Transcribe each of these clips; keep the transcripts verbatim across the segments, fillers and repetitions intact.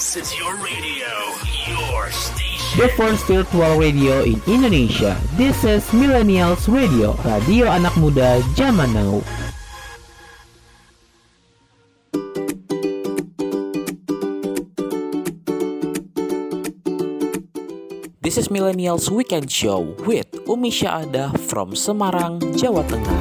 This is your radio, your station. The first virtual radio in Indonesia. This is Millennials Radio, radio anak muda zaman now. This is Millennials Weekend Show with Umi Syahada from Semarang, Jawa Tengah.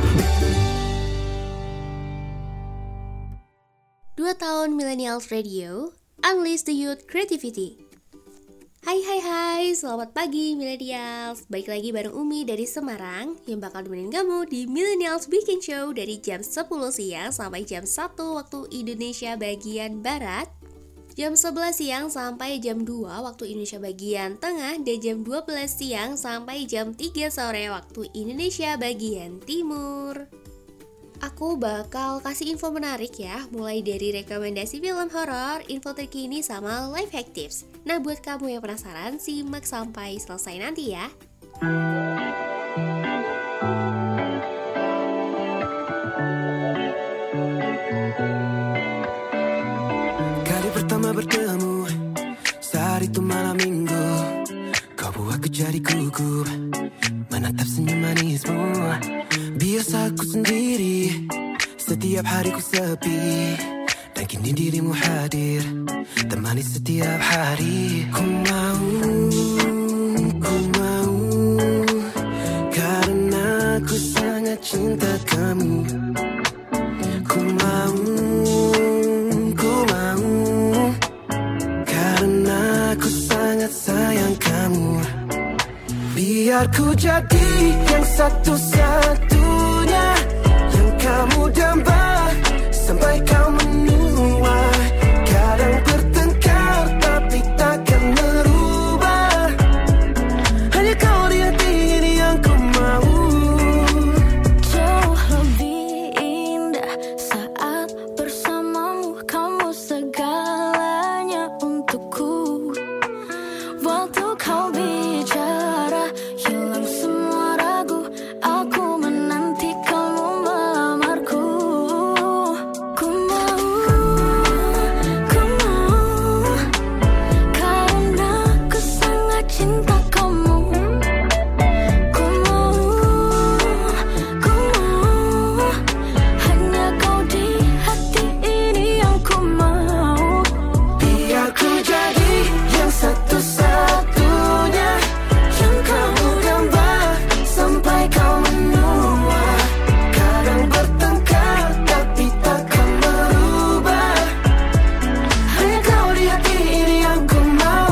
Dua tahun Millennials Radio, Unleash the Youth Creativity. Hai hai hai, selamat pagi Millennials. Baik lagi bareng Umi dari Semarang yang bakal nemenin kamu di Millennials Weekend Show dari jam sepuluh siang sampai jam satu waktu Indonesia bagian Barat, jam sebelas siang sampai jam dua waktu Indonesia bagian Tengah, dan jam dua belas siang sampai jam tiga sore waktu Indonesia bagian Timur. Aku bakal kasih info menarik ya, mulai dari rekomendasi film horor, info terkini, sama life hack tips. Nah, buat kamu yang penasaran, simak sampai selesai nanti ya. Kali pertama bertemu, saat itu malam minggu, kau buatku jadi gugup, menatap senyum manismu. Biasa aku sendiri, setiap hari ku sepi, dan kini dirimu hadir, temani setiap hari. Ku mau, ku mau, karena ku sangat cinta kamu. Ku mau, ku mau, karena ku sangat sayang kamu. Biar ku jadi yang satu-satunya yang kamu damba sampai kau menua. Kadang bertengkar tapi takkan merubah, hanya kau di hati ini yang ku mau. Jauh lebih indah saat bersamamu, kamu segalanya untukku. Waktu kau bicara, hilang semua ragu, aku menanti kamu melamarku. Ku mau, ku mau, karena ku sangat cinta kamu. Ku mau, ku mau, hanya kau di hati ini yang ku mau. Biar ku jadi yang satu-satunya yang kamu gambar sampai kau menua. Kadang bertengkar tapi takkan merubah, hanya kau di hati ini yang ku mau.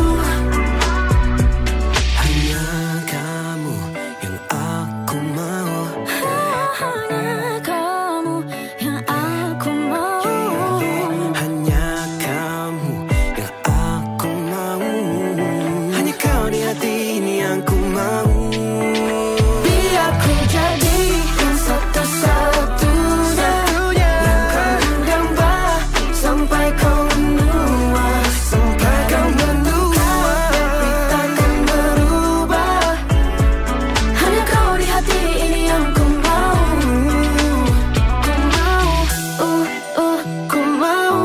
Hanya kamu yang aku mau. Hanya kamu yang aku mau. Hanya kamu yang aku mau. Hanya kau di hati ini yang ku mau. Biar ku jadi yang satu-satunya yang kau gambar sampai kau menua. Sampai kau menua, tapi takkan berubah, hanya kau di hati ini yang ku mau. Ku mau, uh, uh, ku mau,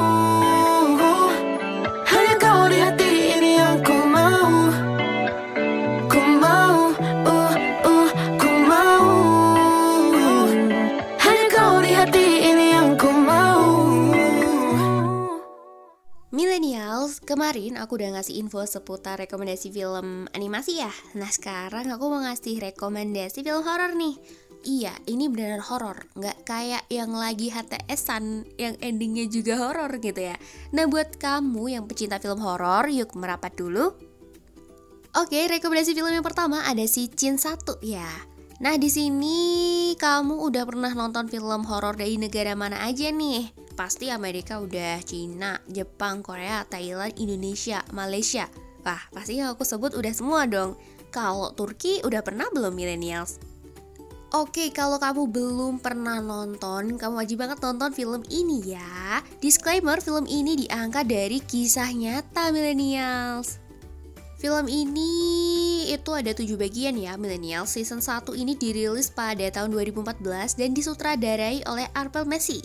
hanya kau di hati ini yang ku mau. Ku mau, uh, uh, ku mau, hanya kau di hati ini yang ku mau. Millennials, kemarin aku udah ngasih info seputar rekomendasi film animasi ya. Nah, sekarang aku mau ngasih rekomendasi film horor nih. Iya, ini beneran horor, nggak kayak yang lagi H T S-an yang endingnya juga horor gitu ya. Nah, buat kamu yang pecinta film horor, yuk merapat dulu. Oke, rekomendasi film yang pertama ada si Jin satu ya. Nah, di sini kamu udah pernah nonton film horor dari negara mana aja nih? Pasti Amerika udah, Cina, Jepang, Korea, Thailand, Indonesia, Malaysia. Wah, pasti yang aku sebut udah semua dong. Kalau Turki udah pernah belum Millennials? Oke, kalau kamu belum pernah nonton, kamu wajib banget nonton film ini ya. Disclaimer, film ini diangkat dari kisah nyata Millennials. Film ini itu ada tujuh bagian ya Millennials. Season satu ini dirilis pada tahun dua ribu empat belas dan disutradarai oleh Arpel Messi.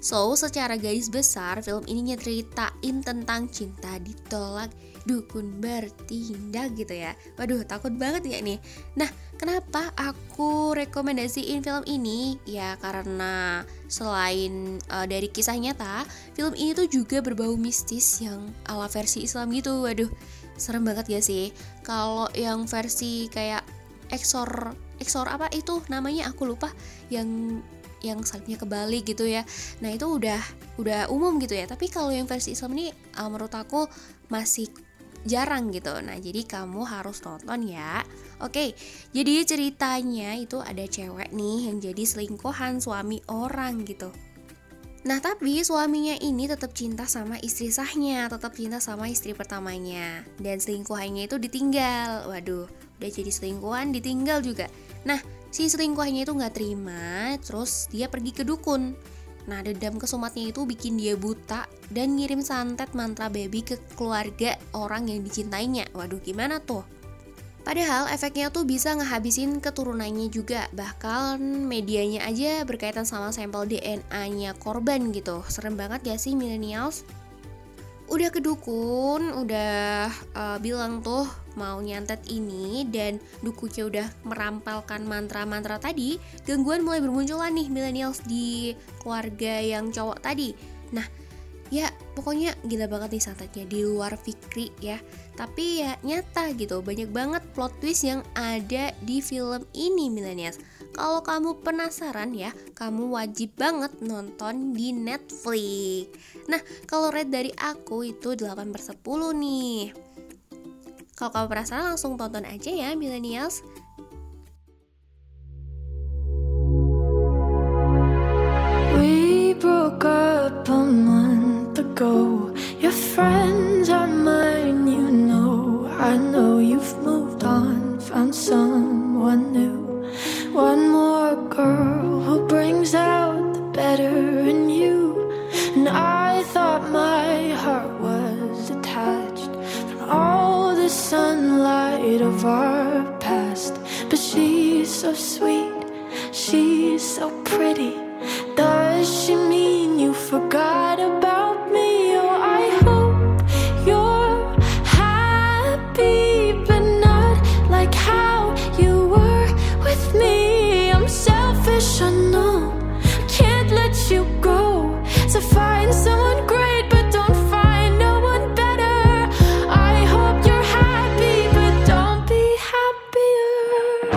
So, secara garis besar, film ini nyeritain tentang cinta ditolak, dukun bertindak gitu ya. Waduh, takut banget ya nih. Nah, kenapa aku rekomendasiin film ini? Ya karena selain uh, dari kisah nyata, film ini tuh juga berbau mistis yang ala versi Islam gitu. Waduh, serem banget gak sih? Kalau yang versi kayak Exor, Exor apa itu namanya aku lupa, yang yang salibnya kebalik gitu ya. Nah itu udah udah umum gitu ya. Tapi kalau yang versi Islam ini uh, menurut aku masih jarang gitu. Nah jadi kamu harus nonton ya. Oke, jadi ceritanya itu ada cewek nih yang jadi selingkuhan suami orang gitu. Nah tapi suaminya ini tetap cinta sama istri sahnya, tetap cinta sama istri pertamanya, dan selingkuhannya itu ditinggal. Waduh, udah jadi selingkuhan ditinggal juga. Nah si selingkuhannya itu gak terima, terus dia pergi ke dukun. Nah dendam kesumatnya itu bikin dia buta dan ngirim santet mantra baby ke keluarga orang yang dicintainya. Waduh gimana tuh? Padahal efeknya tuh bisa ngehabisin keturunannya juga. Bahkan medianya aja berkaitan sama sampel D N A-nya korban gitu. Serem banget gak sih millennials? Udah ke dukun, udah uh, bilang tuh mau nyantet ini, dan dukunya udah merampalkan mantra-mantra tadi, gangguan mulai bermunculan nih millennials di keluarga yang cowok tadi. Nah ya pokoknya gila banget nih santetnya, di luar fikri ya, tapi ya nyata gitu. Banyak banget plot twist yang ada di film ini millennials. Kalau kamu penasaran ya, kamu wajib banget nonton di Netflix. Nah kalau rate dari aku itu delapan per sepuluh nih. Kalau kamu penasaran langsung tonton aja ya millennials. We broke up a month ago. Your friends are mine, you know. I know you've moved on, found someone new. One more girl who brings out the better in you. And I thought my heart was detached from all the sunlight of our past. But she's so sweet, she's so pretty. Does she mean you forgot about me? Oh, I hope you're happy, but not like how you were with me. I'm selfish, I know, can't let you go. So find someone great, but don't find no one better. I hope you're happy, but don't be happier.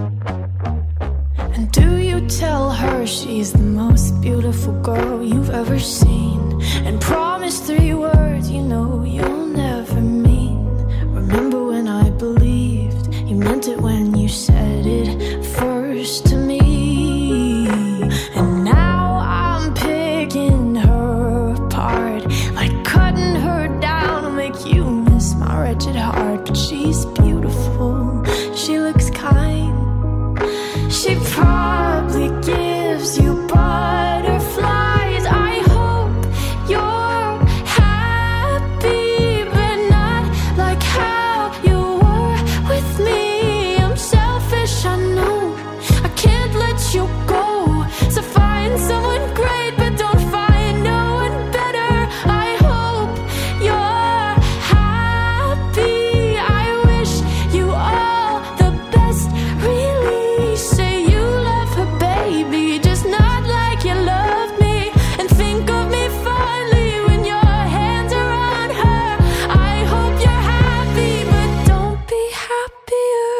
And do you tell her she's the most beautiful girl you've ever seen, and promise three words you know you'll never mean? Remember when I believed you meant it when you said it first to me? And now I'm picking her apart, like cutting her down to make you miss my wretched heart. But she's beautiful, she looks kind, she probably gives you butterflies. I hope you're happy, but not like how you were with me. I'm selfish, I know, I can't let you go. So find someone great, but don't find no one better. I hope you're happy, I wish you all the best, really. Say you love her, baby, just not like you loved me. And think of me fondly when your hands are on her. I hope you're happy, but don't be happier.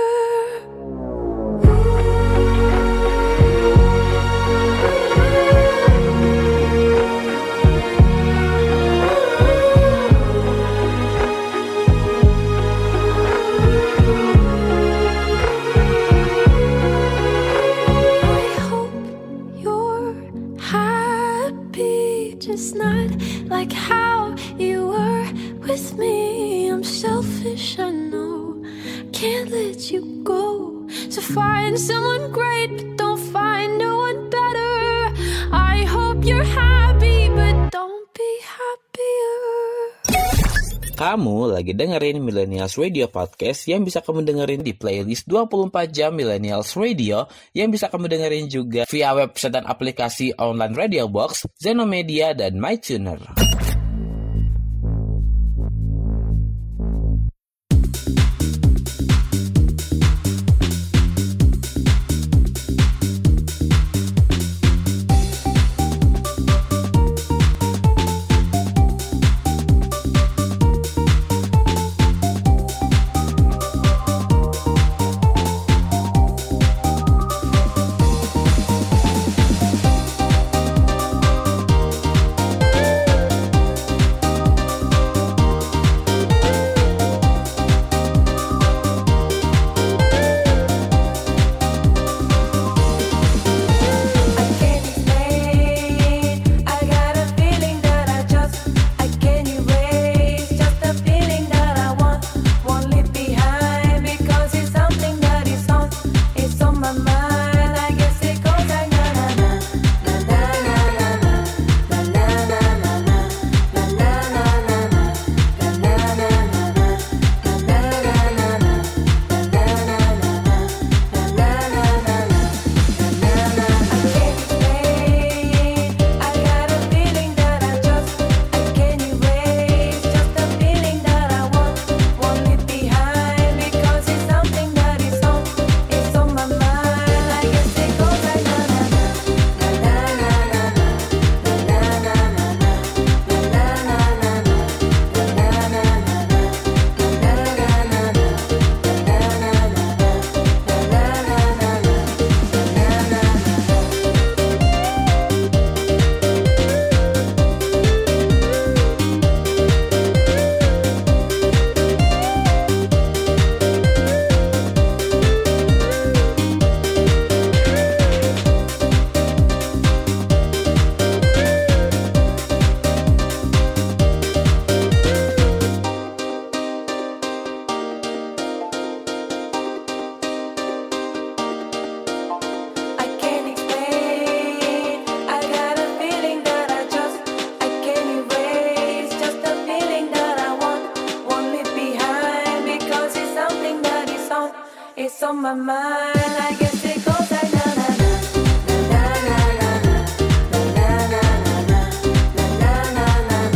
I hope you're happy, just not like how you were with me. I'm selfish, I know, can't let you go. So find someone great, but don't find no one better. I hope you're happy, but don't be happier. Kamu lagi dengerin Millennials Radio Podcast yang bisa kamu dengerin di playlist dua puluh empat jam Millennials Radio yang bisa kamu dengerin juga via website dan aplikasi online Radio Box, Zenomedia, dan MyTuner. It's on my mind, I guess it goes like na na na na na na na na na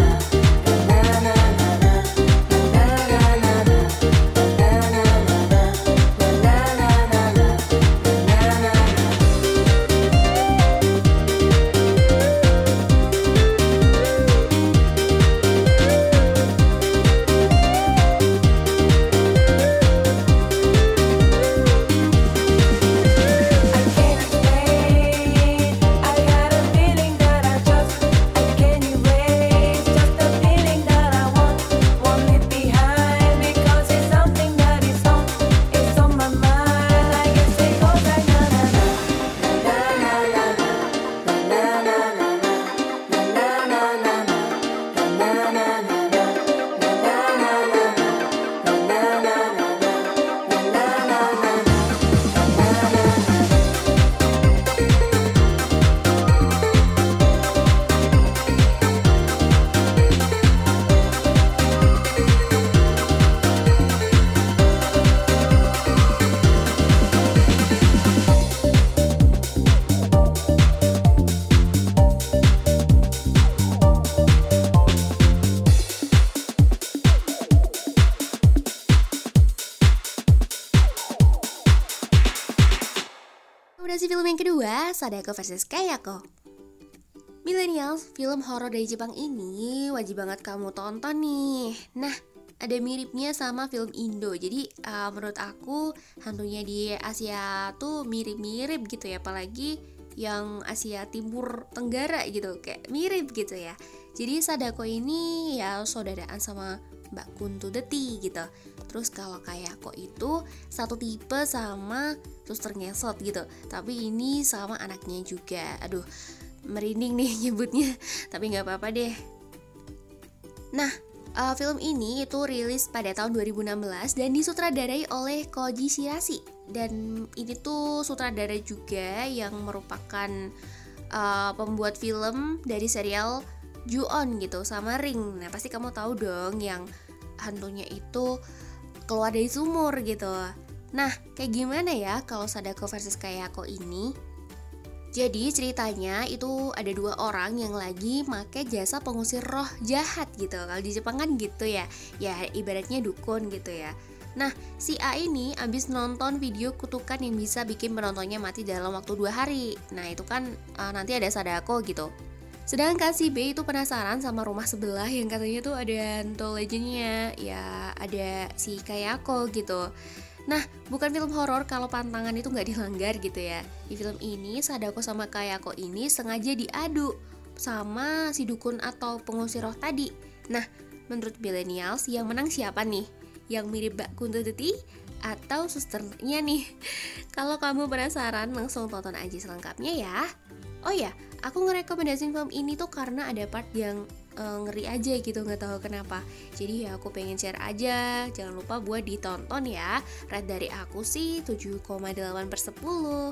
Rekomendasi film yang kedua, Sadako versus Kayako. Millennials, film horor dari Jepang ini wajib banget kamu tonton nih. Nah, ada miripnya sama film Indo. Jadi uh, menurut aku hantunya di Asia tuh mirip-mirip gitu ya, apalagi yang Asia Timur Tenggara gitu, kayak mirip gitu ya. Jadi Sadako ini ya saudaraan sama Mbak Kunto Deti gitu. Terus kalau Kayako itu satu tipe sama suster ngesot gitu, tapi ini sama anaknya juga. Aduh, merinding nih nyebutnya, tapi gak apa-apa deh. Nah, uh, film ini itu rilis pada tahun dua ribu enam belas dan disutradarai oleh Koji Shiraishi. Dan ini tuh sutradara juga yang merupakan uh, pembuat film dari serial Ju-on gitu sama Ring. Nah, pasti kamu tahu dong yang hantunya itu keluar dari sumur gitu. Nah, kayak gimana ya kalau Sadako versus Kayako ini? Jadi ceritanya itu ada dua orang yang lagi make jasa pengusir roh jahat gitu. Kalau di Jepang kan gitu ya, ya ibaratnya dukun gitu ya. Nah, si A ini abis nonton video kutukan yang bisa bikin penontonnya mati dalam waktu dua hari. Nah, itu kan uh, nanti ada Sadako gitu. Sedangkan si B itu penasaran sama rumah sebelah yang katanya tuh ada hantu legendnya, ya ada si Kayako gitu. Nah, bukan film horor kalau pantangan itu nggak dilanggar gitu ya. Di film ini, Sadako sama Kayako ini sengaja diadu sama si dukun atau pengusir roh tadi. Nah, menurut millennials yang menang siapa nih? Yang mirip Mbak Kunto Tuti atau susternya nih? Kalau kamu penasaran, langsung tonton aja selengkapnya ya. Oh ya, aku ngerekomendasin film ini tuh karena ada part yang Uh, ngeri aja gitu, nggak tahu kenapa. Jadi ya aku pengen share aja. Jangan lupa buat ditonton ya. Rate dari aku sih tujuh koma delapan per sepuluh.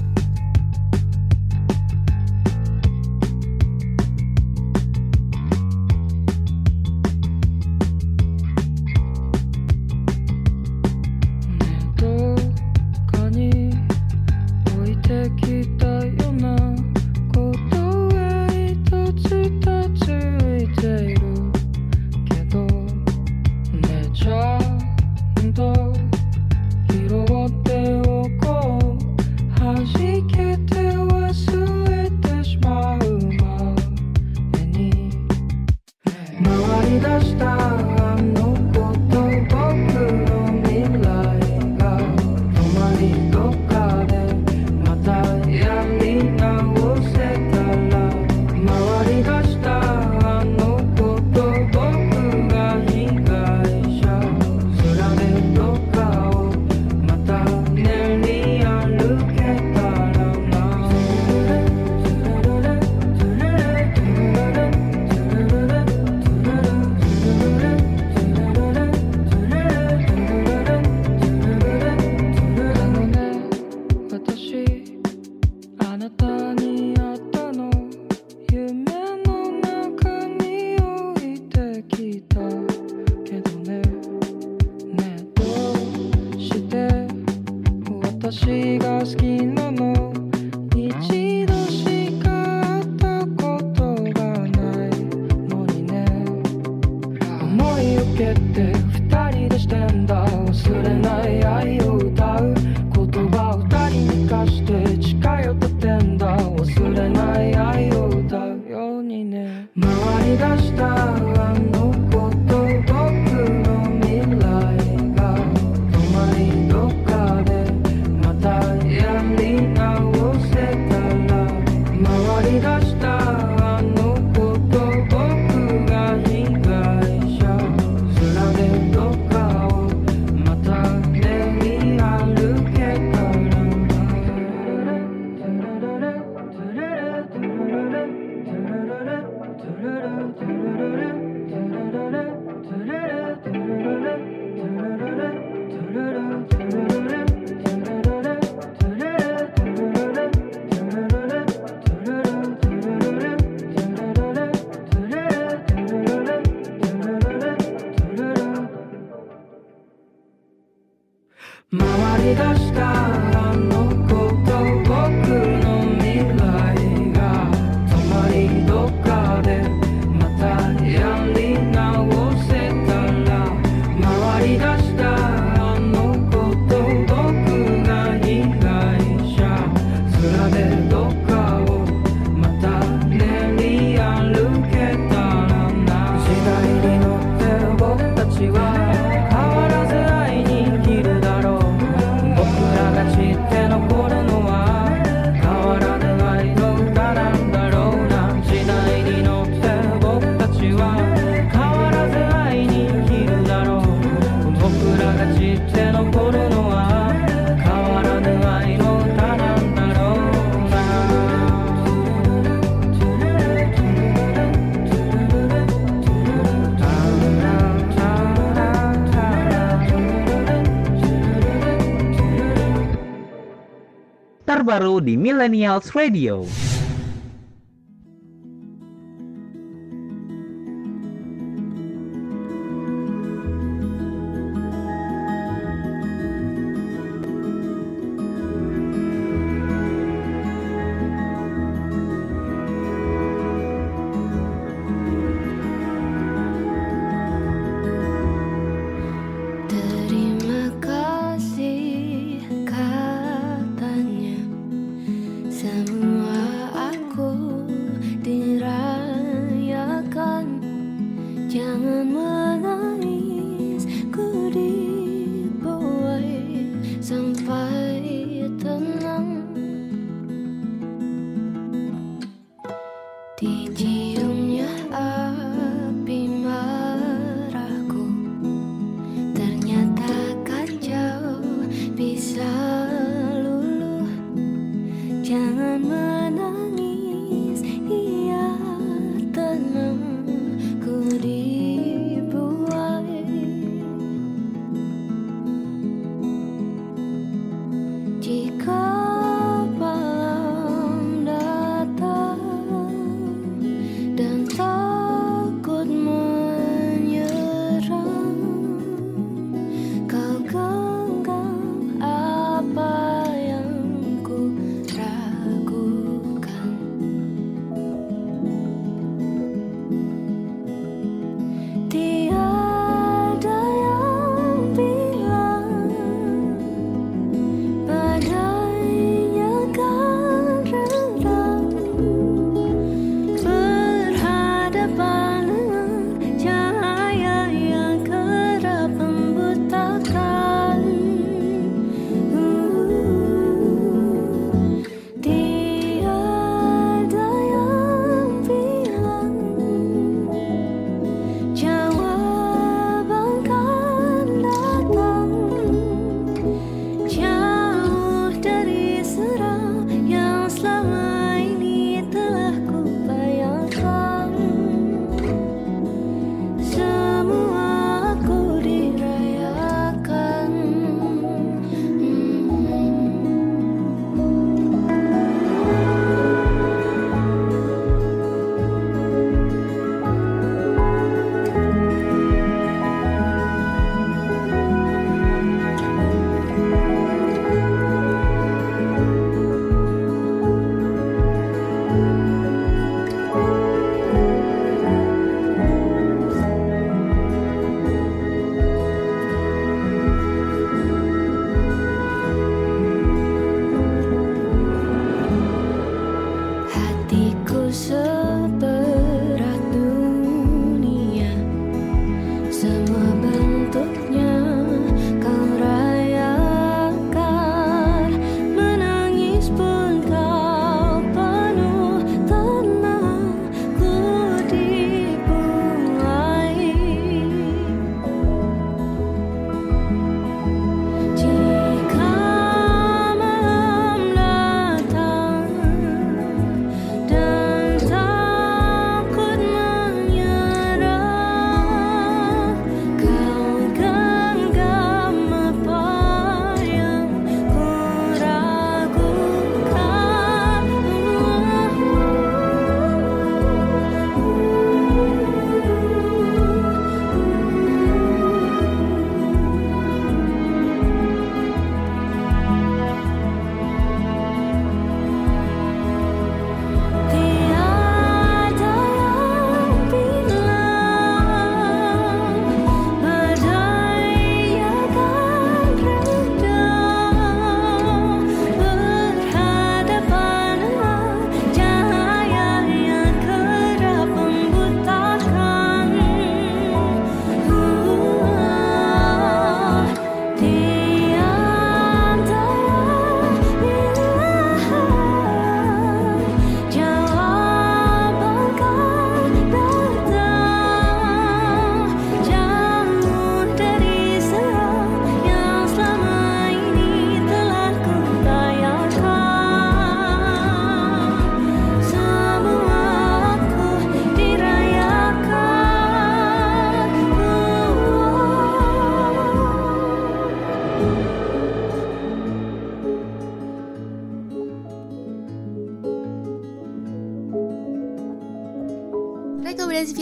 Terbaru di Millennials Radio.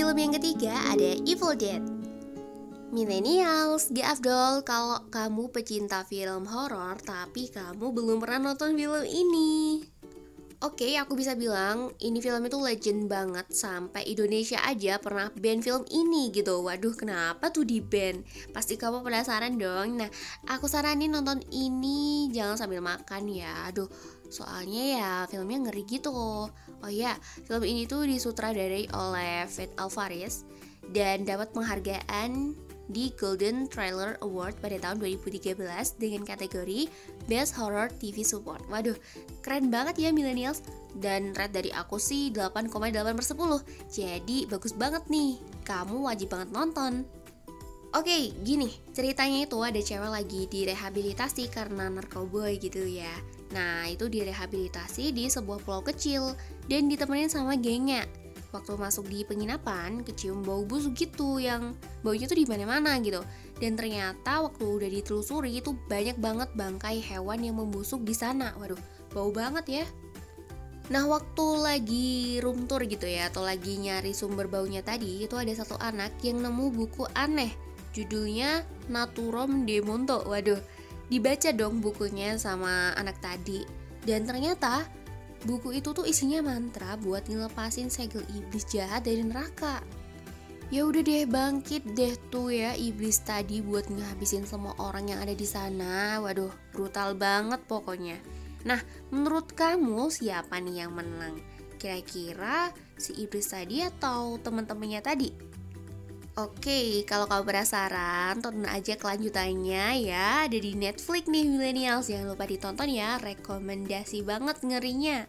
film yang ketiga ada Evil Dead. Millennials, gak afdol kalau kamu pecinta film horor tapi kamu belum pernah nonton film ini. Oke, aku bisa bilang ini film itu legend banget, sampai Indonesia aja pernah ban film ini gitu. Waduh, kenapa tuh di ban? Pasti kamu penasaran dong. Nah, aku saranin nonton ini jangan sambil makan ya. Aduh, soalnya ya filmnya ngeri gitu. Oh ya, film ini tuh disutradarai oleh Fede Alvarez dan dapat penghargaan di Golden Trailer Award pada tahun dua ribu tiga belas dengan kategori Best Horror T V Support. Waduh, keren banget ya millennials. Dan rate dari aku sih delapan koma delapan per sepuluh. Jadi bagus banget nih, kamu wajib banget nonton. Oke, gini, ceritanya itu ada cewek lagi direhabilitasi karena narkoboy gitu ya. Nah, itu direhabilitasi di sebuah pulau kecil dan ditemenin sama gengnya. Waktu masuk di penginapan, kecium bau busuk gitu yang baunya tuh di mana-mana gitu. Dan ternyata waktu udah ditelusuri itu banyak banget bangkai hewan yang membusuk di sana. Waduh, bau banget ya. Nah, waktu lagi room tour gitu ya, atau lagi nyari sumber baunya tadi, itu ada satu anak yang nemu buku aneh. Judulnya Naturom de Monto. Waduh, dibaca dong bukunya sama anak tadi. Dan ternyata buku itu tuh isinya mantra buat ngelepasin segel iblis jahat dari neraka. Ya udah deh, bangkit deh tuh ya iblis tadi buat ngehabisin semua orang yang ada di sana. Waduh, brutal banget pokoknya. Nah, menurut kamu siapa nih yang menang? Kira-kira si iblis tadi atau teman-temannya tadi? Oke, kalau kamu penasaran, tonton aja kelanjutannya ya. Ada di Netflix nih millennials, jangan lupa ditonton ya. Rekomendasi banget ngerinya.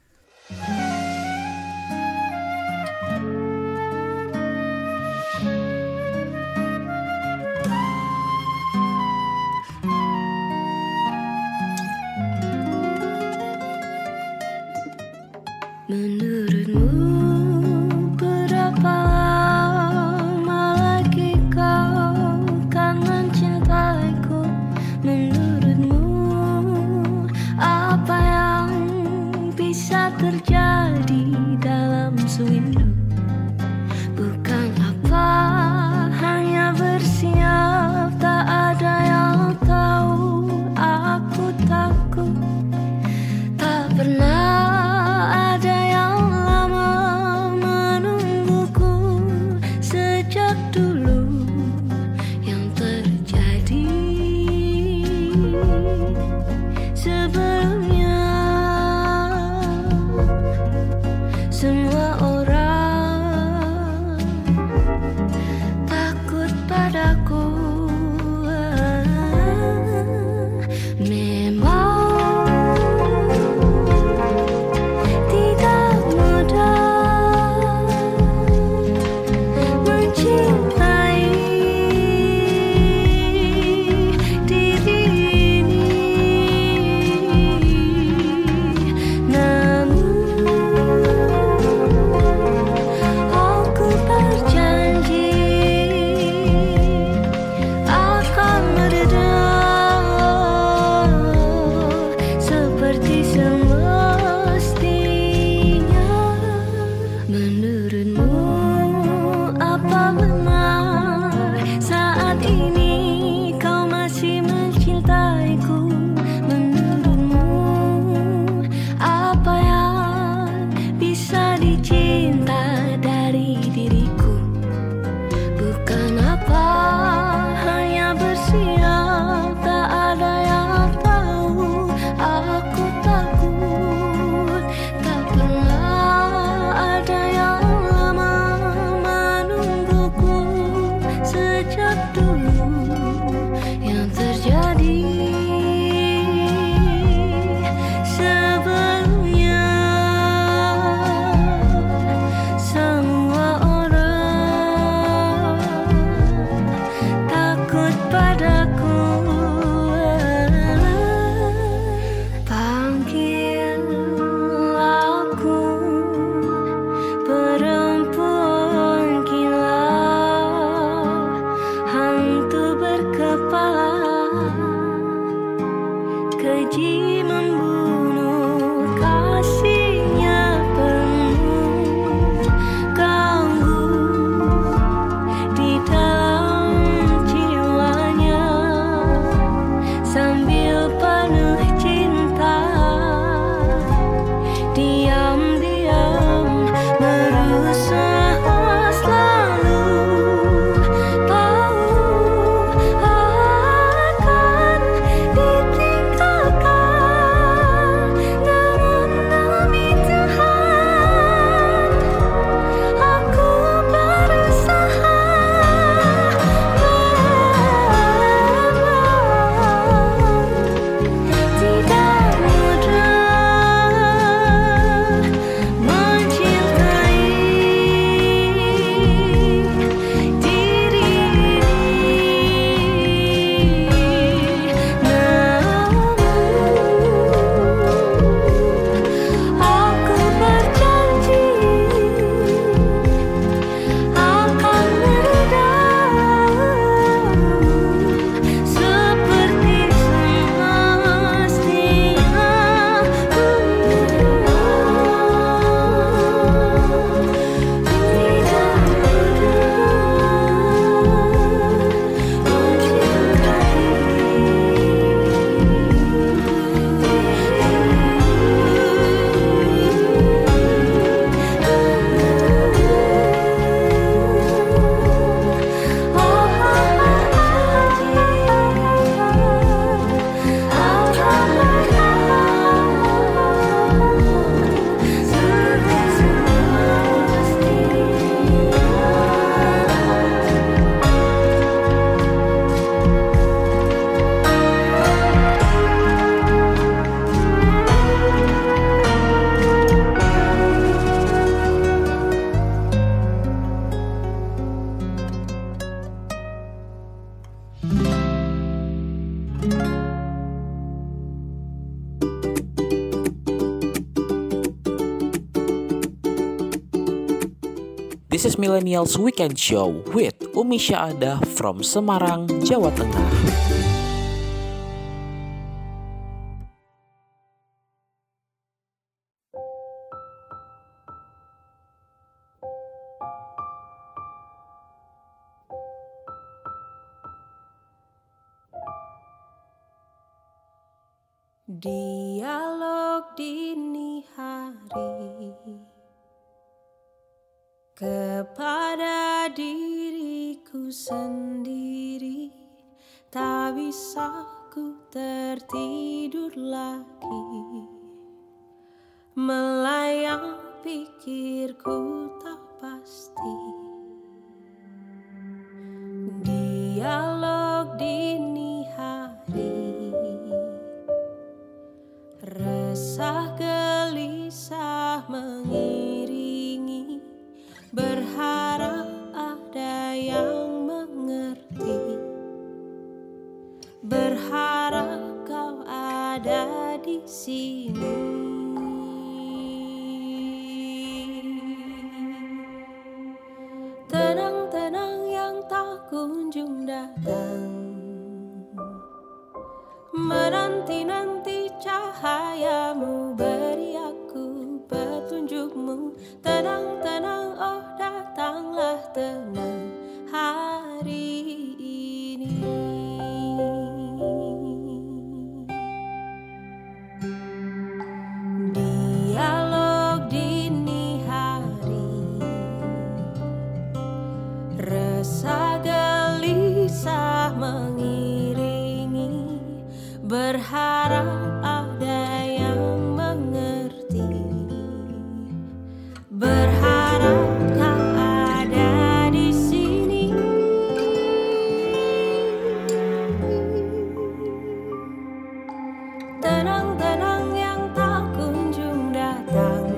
Menurutmu berapa lama lagi kau kan mencintaiku? Menurutmu apa yang bisa terjadi dalam sewindu? Bukan apa hanya bersiap, tak ada yang tahu. Aku takut tak pernah ada yang lama menungguku sejak dulu. Yang terjadi sebelumnya, semua orang takut padaku. Kasihnya penuh ganggu This is Millennials Weekend Show with Umi Syahada from Semarang, Jawa Tengah. Dialog dini hari kepada diriku sendiri, tak bisa ku tertidur lagi, melayang pikirku tak pasti. Dialog dini hari, resah gelisah mengiringi, berharap ada yang mengerti, berharap kau ada di sini. Tenang-tenang yang tak kunjung datang, menanti-nanti cahayamu, beri aku petunjukmu. Tenang-tenang, oh datanglah tenang hari ini. Dialog dini hari, resah gelisah mengiringi, berharap ada yang mengerti, berharap kau ada di sini. Tenang-tenang yang tak kunjung datang,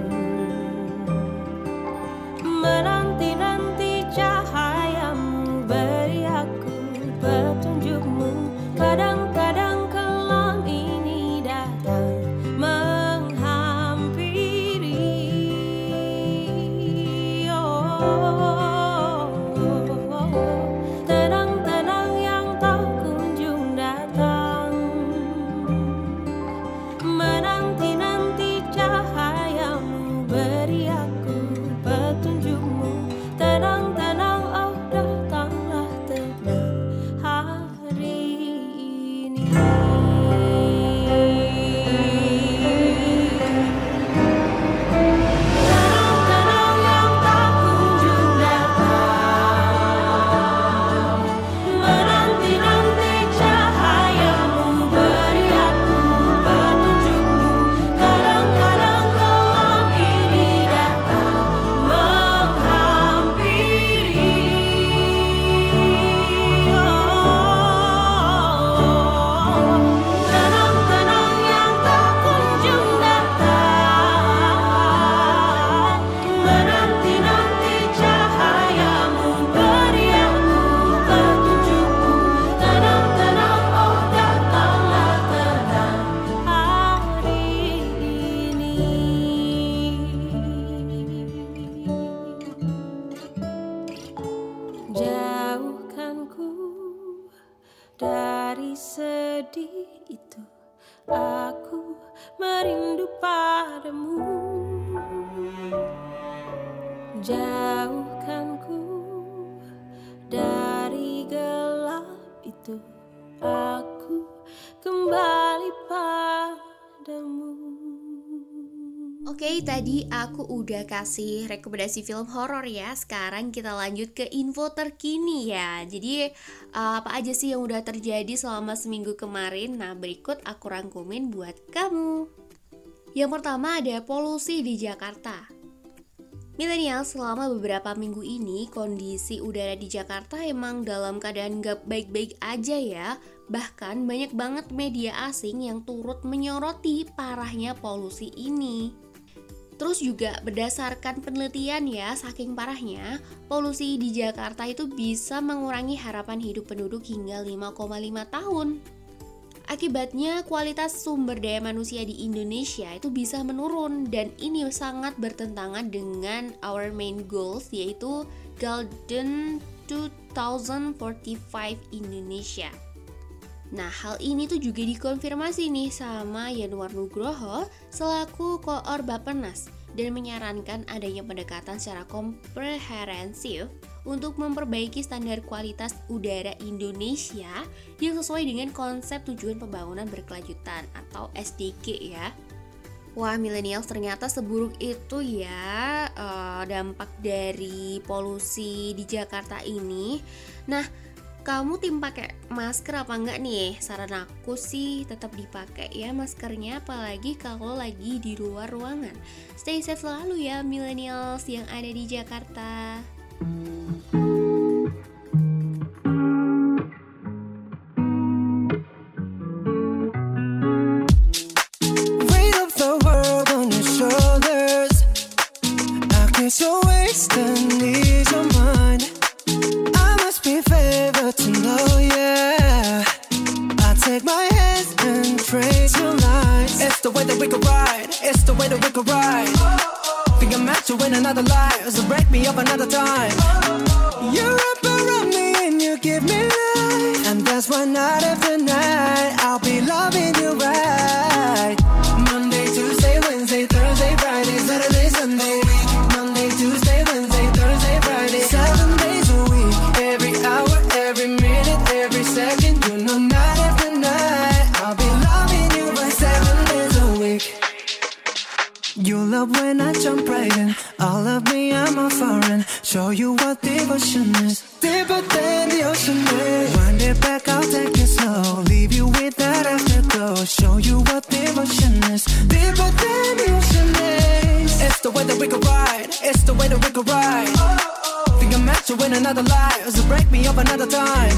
menanti-nanti cahayamu, beri aku petunjukmu. Kadang-kadang kelam ini datang menghampiri, oh, oh, oh. Tenang-tenang yang tak kunjung datang, menanti-nanti cahayamu, beri aku petunjukmu. Tenang-tenang, oh datanglah tenang hari ini. Tenang-tenang yang tak kunjung datang, menanti-nanti cahayamu, beri aku petunjukmu. Kadang-kadang kelam ini datang menghampiri, oh, tenang-tenang yang tak kunjung datang, menanti-nanti cahayamu, beri aku petunjukmu. Tenang-tenang, oh datanglah tenang hari ini. Jauhkanku dari sedih itu, aku merindu padamu. Jauhkanku dari gelap itu, aku kembali padamu. Oke, tadi aku udah kasih rekomendasi film horor ya. Sekarang kita lanjut ke info terkini ya. Jadi uh, apa aja sih yang udah terjadi selama seminggu kemarin? Nah, berikut aku rangkumin buat kamu. Yang pertama ada polusi di Jakarta. Milenial, selama beberapa minggu ini kondisi udara di Jakarta emang dalam keadaan gak baik-baik aja ya. Bahkan banyak banget media asing yang turut menyoroti parahnya polusi ini. Terus juga berdasarkan penelitian ya, saking parahnya, polusi di Jakarta itu bisa mengurangi harapan hidup penduduk hingga lima koma lima tahun. Akibatnya kualitas sumber daya manusia di Indonesia itu bisa menurun, dan ini sangat bertentangan dengan our main goals, yaitu Golden dua ribu empat puluh lima Indonesia. Nah, hal ini tuh juga dikonfirmasi nih sama Yanuar Nugroho selaku Koor Bappenas, dan menyarankan adanya pendekatan secara komprehensif untuk memperbaiki standar kualitas udara Indonesia yang sesuai dengan konsep tujuan pembangunan berkelanjutan atau S D G ya. Wah, millennials ternyata seburuk itu ya uh, dampak dari polusi di Jakarta ini. Nah, kamu tim pakai masker apa enggak nih? Saran aku sih tetap dipakai ya maskernya, apalagi kalau lagi di luar ruangan. Stay safe selalu ya millennials yang ada di Jakarta. Weight of the world on your shoulders, I guess you're wasting ease your mind. I must be favored to know, yeah. I take my hands and trace your lines. It's the way that we could ride, it's the way that we could ride. Think I'm meant to win another life, so break me up another time. You wrap around me and you give me life, and that's why night after night I'll be loving you right. Monday, Tuesday, Wednesday, Thursday, Friday, Saturday, Sunday. Monday, Tuesday, Wednesday, Thursday, Friday. Seven days a week, every hour, every minute, every second. You know night after night I'll be loving you right. Seven days a week. You love when I jump right in. All of me, I'm a foreign. Show you what devotion is. Deeper than the ocean is. Wind it back, I'll take it slow. Leave you with that afterglow. Show you what devotion is. Deeper than the ocean is. It's the way that we could ride. It's the way that we could ride. Think I'm meant to win another life, so break me up another time.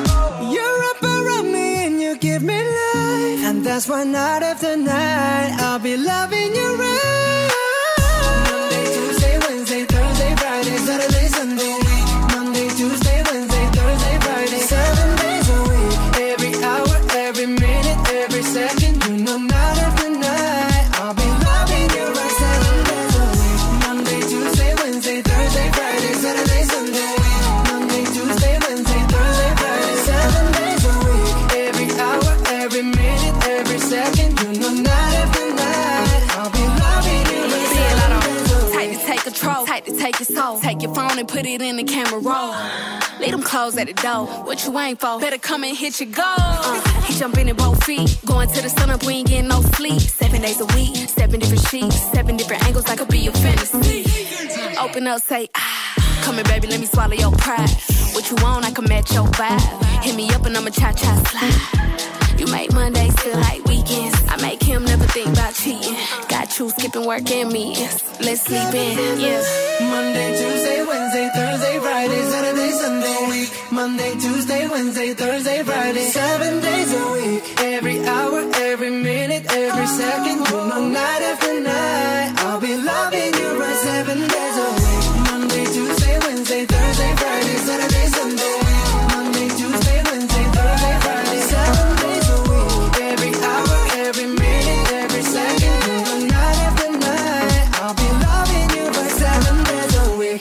You're up around me and you give me life, and that's why night after night I'll be loving you right. Monday, Tuesday, Wednesday, Thursday, Friday, Saturday, Sunday. Monday, Tuesday, Wednesday, Thursday, Friday. Seven days a week, every hour, every minute, every second. You know night after night I'll be loving you right. Seven days a week. Monday, Tuesday, Wednesday, Thursday, Friday, Saturday, Sunday. Monday, Tuesday, Wednesday, Thursday, Friday. Seven days a week, every hour, every minute, every second. You know night after night I'll be loving you right. Seven days a week. Tight to take control, tight to take your soul. Take your phone and put it in the camera roll. Leave them clothes at the door. What you ain't for? Better come and hit your goal. Uh, he jumping in both feet. Going to the sun up, we ain't getting no sleep. Seven days a week, seven different sheets, seven different angles. That could be your fantasy. Open up, say ah. Come here, baby, let me swallow your pride. What you want, I can match your vibe. Hit me up and I'ma cha-cha slide. You make Mondays feel like weekends. I make him never think about cheating. Got you skipping work and meetings. Let's sleep in, yeah. Monday, Tuesday, Wednesday, Thursday, Friday, Saturday, Sunday. Monday, Tuesday, Wednesday, Thursday, Friday. Seven days a week. Every hour, every minute, every second. You know night after night I'll be loving you right. Seven days a week. Monday, Tuesday, Wednesday, Thursday, Friday, Saturday, Sunday. Monday, Tuesday, Wednesday, Thursday, Friday. Seven days a week. Every hour, every minute, every second. You know night after night I'll be loving you right. Seven days a week.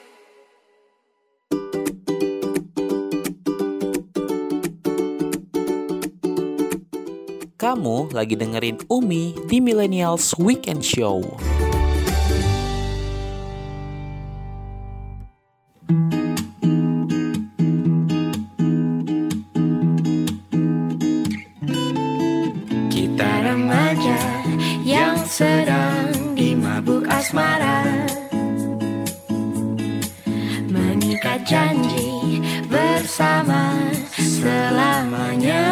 Kamu lagi dengerin Umi di Millennials Weekend Show. Kita remaja yang sedang dimabuk asmara, mengikat janji bersama selamanya.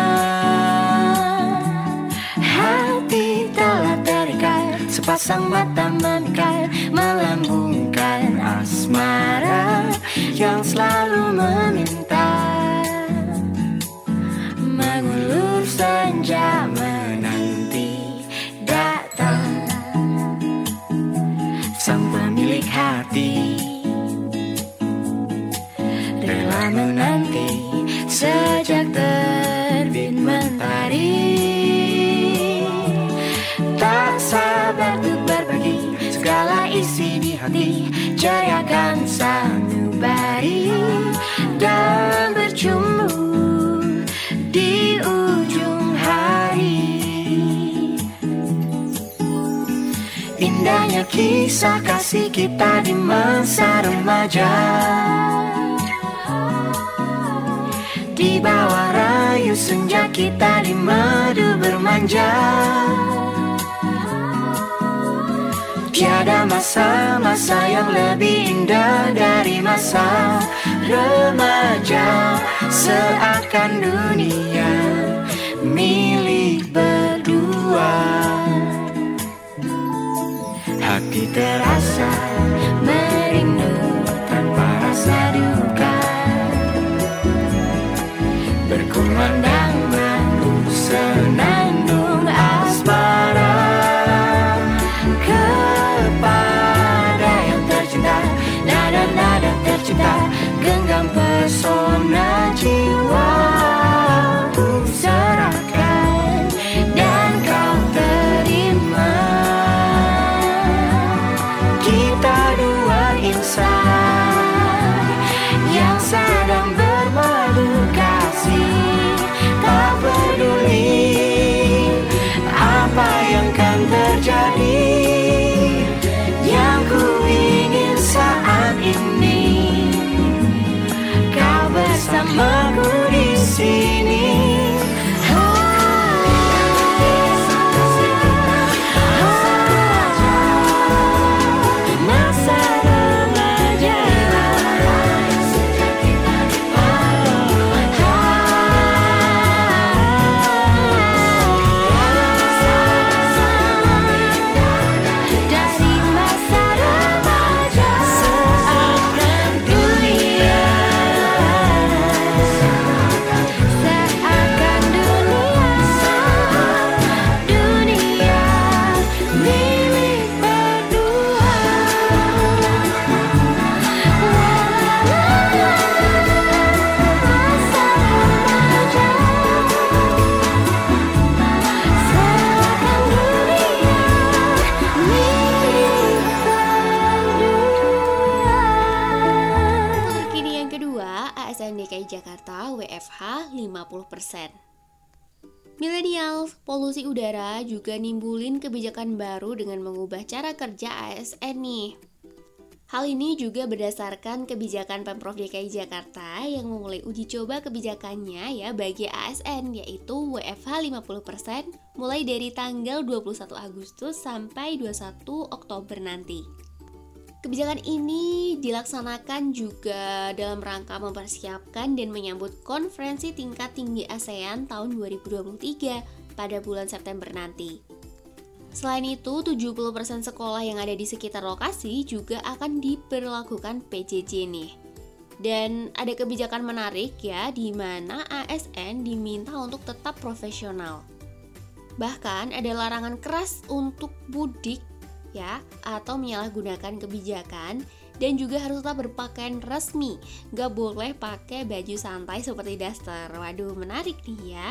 Hati telah terikat, sepasang mata memikat, melambungkan asmara yang selalu meminta. Mengulur senja menanti datang sang pemilik hati, rela menanti sejak terbit mentari. Indahnya kisah kasih kita di masa remaja, di bawah rayu senja kita di madu bermanja. Tiada masa-masa yang lebih indah dari masa remaja. Seakan dunia milik berdua. Hati terasa merindu tanpa rasa duka, berkumandang madu senandung asmara kepada yang tercinta. Nada-nada tercinta genggam pesona jiwa ku serahkan dan kau terima. Kita dua insan yang sedang bermadu kasih, tak peduli apa yang kan terjadi. Yang ku ingin saat ini kau bersamaku di sini. lima puluh persen. Millennials, polusi udara juga nimbulin kebijakan baru dengan mengubah cara kerja A S N nih. Hal ini juga berdasarkan kebijakan Pemprov D K I Jakarta yang memulai uji coba kebijakannya ya bagi A S N, yaitu W F H lima puluh persen mulai dari tanggal dua puluh satu Agustus sampai dua puluh satu Oktober nanti. Kebijakan ini dilaksanakan juga dalam rangka mempersiapkan dan menyambut konferensi tingkat tinggi ASEAN tahun dua ribu dua puluh tiga pada bulan September nanti. Selain itu, tujuh puluh persen sekolah yang ada di sekitar lokasi juga akan diberlakukan P J J nih. Dan ada kebijakan menarik ya, di mana A S N diminta untuk tetap profesional. Bahkan ada larangan keras untuk mudik ya, atau menyalahgunakan kebijakan, dan juga harus tetap berpakaian resmi, gak boleh pakai baju santai seperti daster. Waduh, menarik nih ya.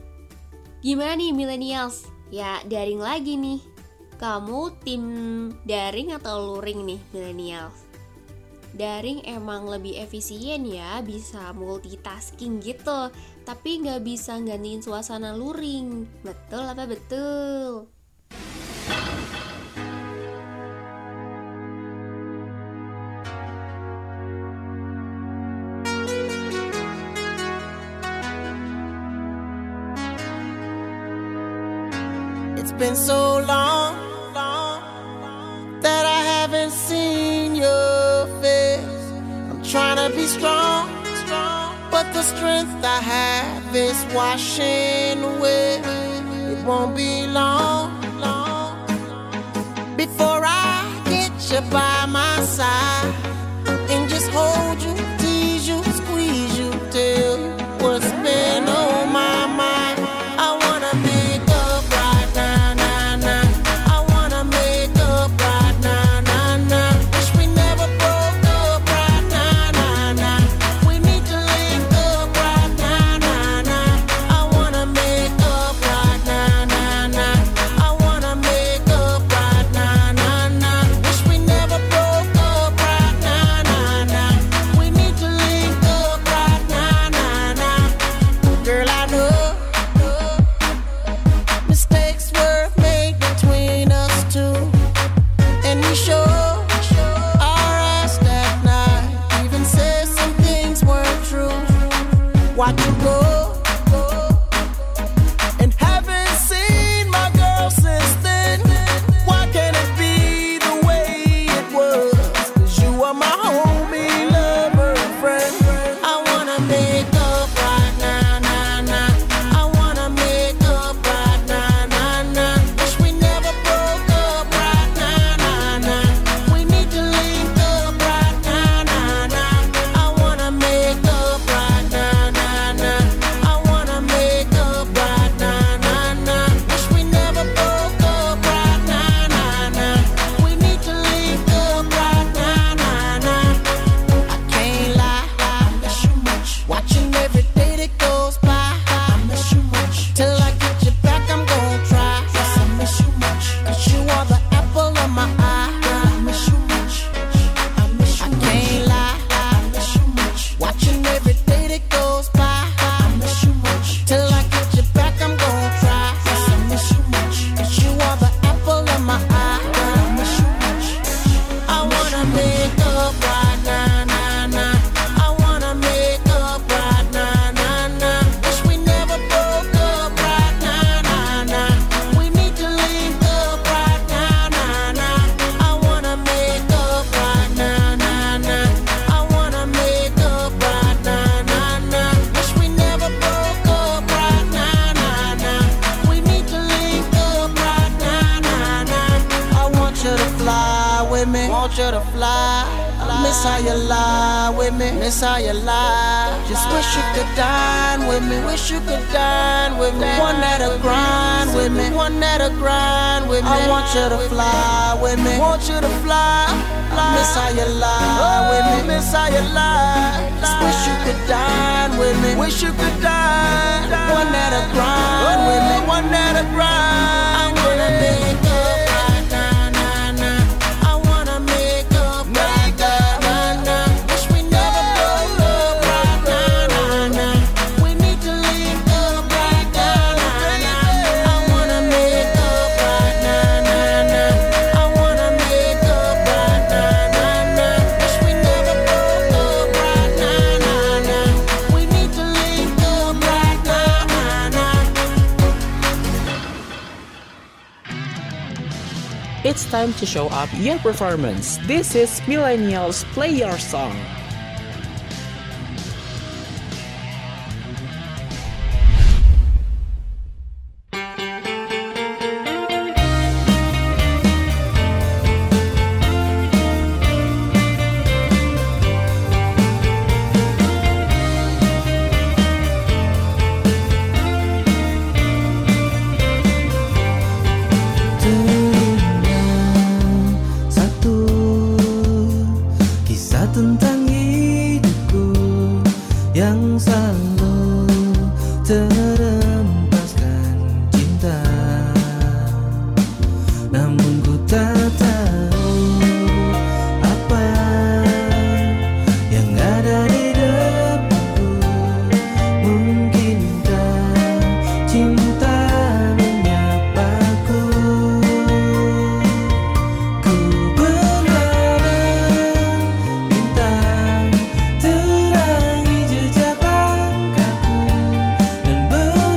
Gimana nih millennials? Ya daring lagi nih. Kamu tim daring atau luring nih millennials? Daring emang lebih efisien ya, bisa multitasking gitu, tapi gak bisa gantiin suasana luring. Betul apa betul? It's been so long, long that I haven't seen your face. I'm trying to be strong, strong, but the strength I have is washing away. It won't be long, long before I get you by my side and just hold you, tease you, squeeze you, tell you what's been on my mind. I wanna make up right now, now, now. I wanna make up right now, now, now. Wish we never broke up right now, now, now. We need to link up right now, now, now. I wanna make up right now, now, now. I wanna make up right now, now, now. Wish we never broke up right now, now, now. We need to link up right now, now, go. And haven't seen my girl since then. Why can't it be the way it was? 'Cause you are my homie, lover, and friend. I wanna make up right now, nah, nah. I wanna make up right now, nah, nah. Wish we never broke up right now, nah, nah. We need to link up right now, nah, nah. I wanna make up right now, nah, nah. I wanna make up right now, nah, nah. Wish we never broke up right now, nah, nah. We need to link up right now, nah, nah. I can't lie, I miss you much. Watching every day that goes by, I miss you much. Till I get you back, I'm gonna try. Yes, I miss you much. 'Cause you are the apple of my eye. I miss you much. I miss you much. I can't lie, I miss you much. Watching every day that goes by, I miss you much. Till I get you back, I'm gonna try. Yes, I miss you much. 'Cause you are the apple of my eye. I miss you much. I wanna make up right now, nah, nah. I wanna make up right now, nah, nah. Wish we never broke up right now, nah, nah. We need to link up right now, nah, nah. I wanna make up right now, nah, nah. I wanna make up right now, nah, nah. Wish we never broke up right now, nah, nah. We need to link up right now, nah, nah. I want you to fly with me, want you to fly. Miss how you lie with me, miss how you lie. Just wish you could dine with me, wish you could dine with me. One that'll grind with me, one that'll grind with me. I want you to fly with me, want you to fly. Miss how you lie with me, miss how you lie. Just wish you could dine with me, wish you could dine. One that'll grind with me, one that'll grind. I wanna make up right now, nah, nah. I wanna make up right now, nah, nah. Wish we never broke up right now, nah, nah. We need to link up right now, nah, nah. I wanna make up right now, nah, nah. I wanna make up right now, nah, nah. Wish we never broke up right now, nah, nah. We need to link up right now, nah, nah. It's time to show up your performance. This is Millennials Play Your Song. Satu kisah tentang hidupku yang selalu terempaskan cinta. Namun ku tak tahu apa yang ada di depanku. Mungkinkah cinta menyapaku? Ku berharap bintang terangi jejak langkahku dan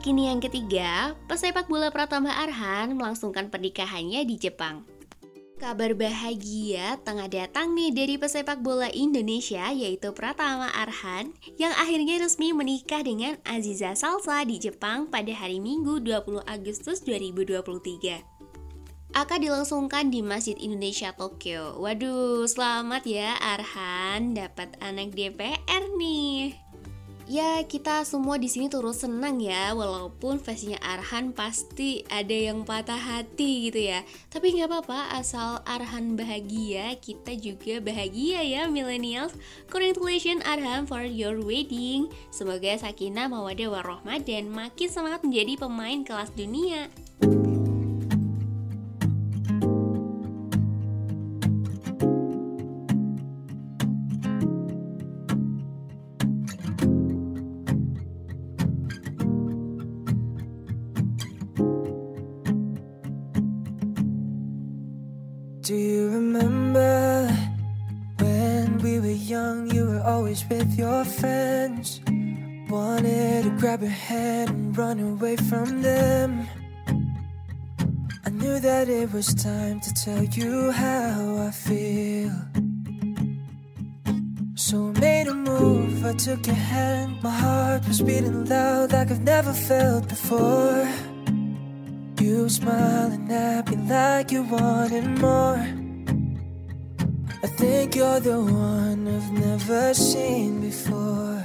kini yang ketiga, pesepak bola Pratama Arhan melangsungkan pernikahannya di Jepang. Kabar bahagia tengah datang nih dari pesepak bola Indonesia yaitu Pratama Arhan yang akhirnya resmi menikah dengan Aziza Salsa di Jepang pada hari Minggu dua puluh Agustus dua ribu dua puluh tiga. Akad dilangsungkan di Masjid Indonesia Tokyo. Waduh, selamat ya Arhan dapat anak D P R nih. Ya, kita semua di sini turut senang ya, walaupun versinya Arhan pasti ada yang patah hati gitu ya. Tapi nggak apa-apa, asal Arhan bahagia, kita juga bahagia ya millennials. Congratulations Arhan for your wedding. Semoga sakinah mawaddah warahmah dan makin semangat menjadi pemain kelas dunia. Do you remember when we were young, you were always with your friends? Wanted to grab your hand and run away from them. I knew that it was time to tell you how I feel. So I made a move, I took your hand. My heart was beating loud like I've never felt before. You smiling at me like you wanted more. I think you're the one I've never seen before.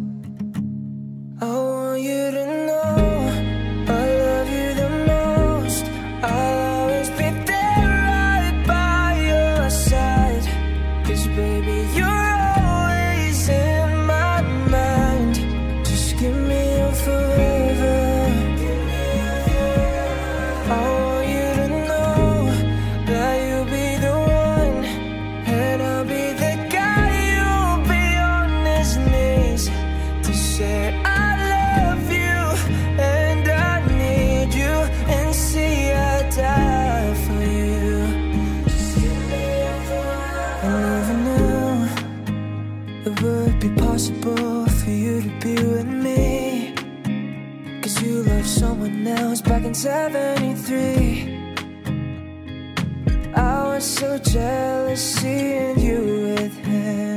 I want you to know I love you the most. I'll always be there right by your side. 'Cause baby you're always in my mind. Just give me your forever. I want you to know that you'll be the one, and I'll be the guy you'll be on his knees to say I love you and I need you, and see I die for you. I never knew it would be possible for you to be with me. 'Cause you loved someone else back in seventy-three. I was so jealous seeing you with him.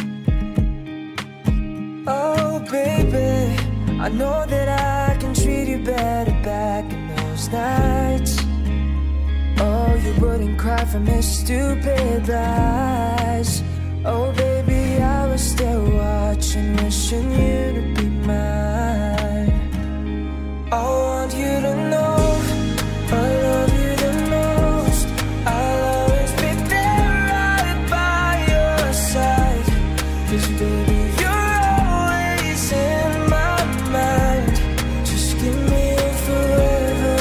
Oh baby, I know that I can treat you better back in those nights. Oh, you wouldn't cry from his stupid lies. Oh baby, I was still watching, wishing you to be mine. I want you to know I love you the most. I'll always be there right by your side. 'Cause baby you're always in my mind. Just give me forever.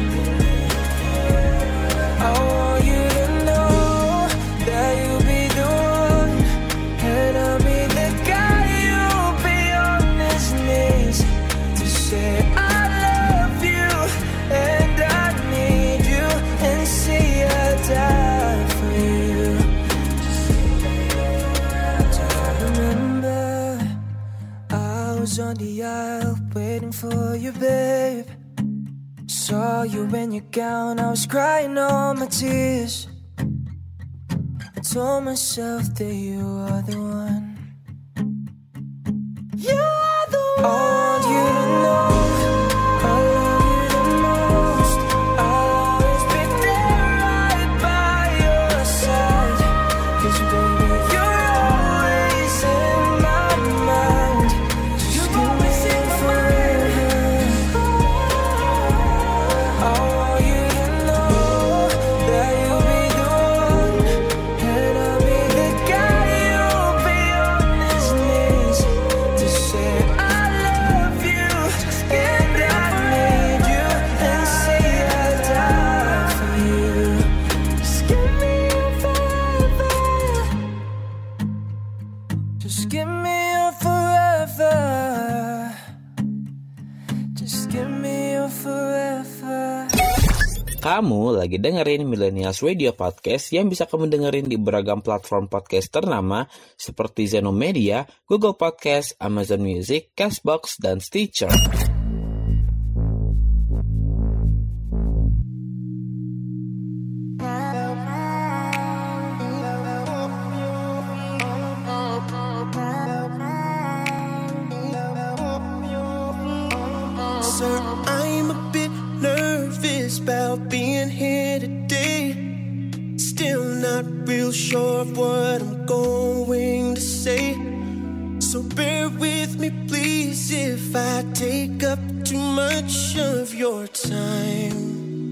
I want you to know that you'll be the one, and I'll be the guy you'll be on his knees to say I and I need you, and see I die for you. Do you remember I was on the aisle waiting for you, babe? Saw you in your gown, I was crying all my tears. I told myself that you are the one. You are the one. I want you to know I love you the most. I'll always be there right by your side. 'Cause baby you're always in my mind. Just give me forever. I want you to know that you'll be the one, and I'll be the guy you'll be on his knees to say I love you and I need you, and say I die for you. Just give me your forever. Just give me your forever. Just give me your forever. Kamu lagi dengerin Millennials Radio Podcast yang bisa kamu dengerin di beragam platform podcast ternama seperti Zeno Media, Google Podcast, Amazon Music, Castbox, dan Stitcher. closer. I'm a bit nervous about being here today. Still not real sure of what I'm going to say. So bear with me please if I take up too much of your time.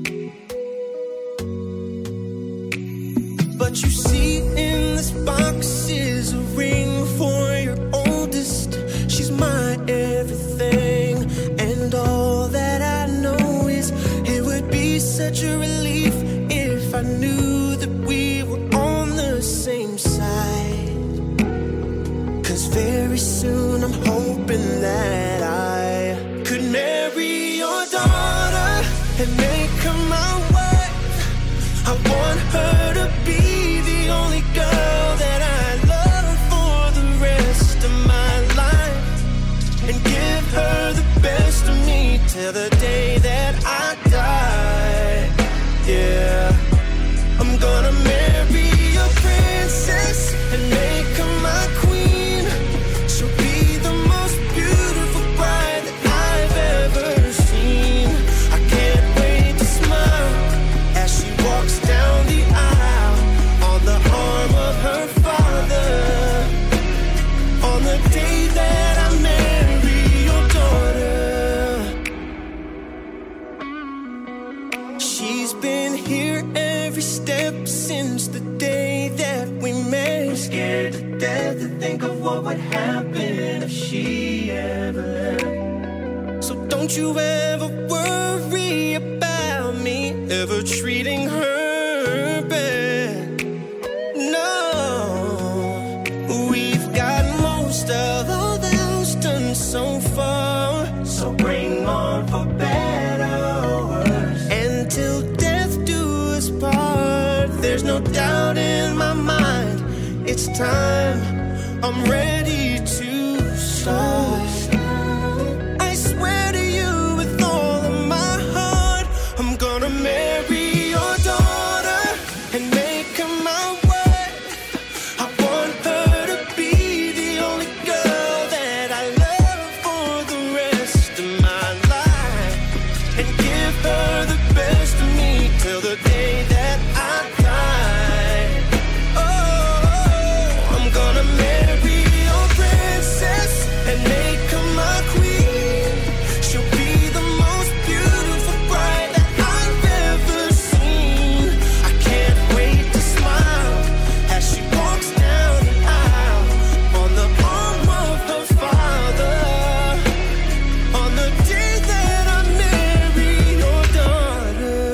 But you see in this box is a ring for your oldest. She's my everything, and all that I know is it would be such a relief if I knew that we were on the same side. Cause very soon I'm hoping that I could marry your daughter and make her my wife. I want her to be the only girl that I love for the rest of my life, and give her the best of me till the day that I die. Yeah, I'm gonna marry your princess and make her my queen. She'll be the most beautiful bride that I've ever seen. I can't wait to smile as she walks down the aisle on the arm of her father, on the day that I marry your daughter. She's been here every step since the day that we met. I'm scared to death to think of what would happen if she ever left. So don't you ever worry about me ever treating her bad. No, we've got most of all the house done so far. So bring on for better or worse. And till death do us part, there's no doubt in my mind. It's time, I'm ready to start. I swear to you with all of my heart, I'm gonna marry your daughter and make her my wife. I want her to be the only girl that I love for the rest of my life, and give her the best of me till the day that I die. Oh, I'm gonna marry your princess and make her my queen. She'll be the most beautiful bride that I've ever seen. I can't wait to smile as she walks down the aisle on the arm of her father, on the day that I marry your daughter.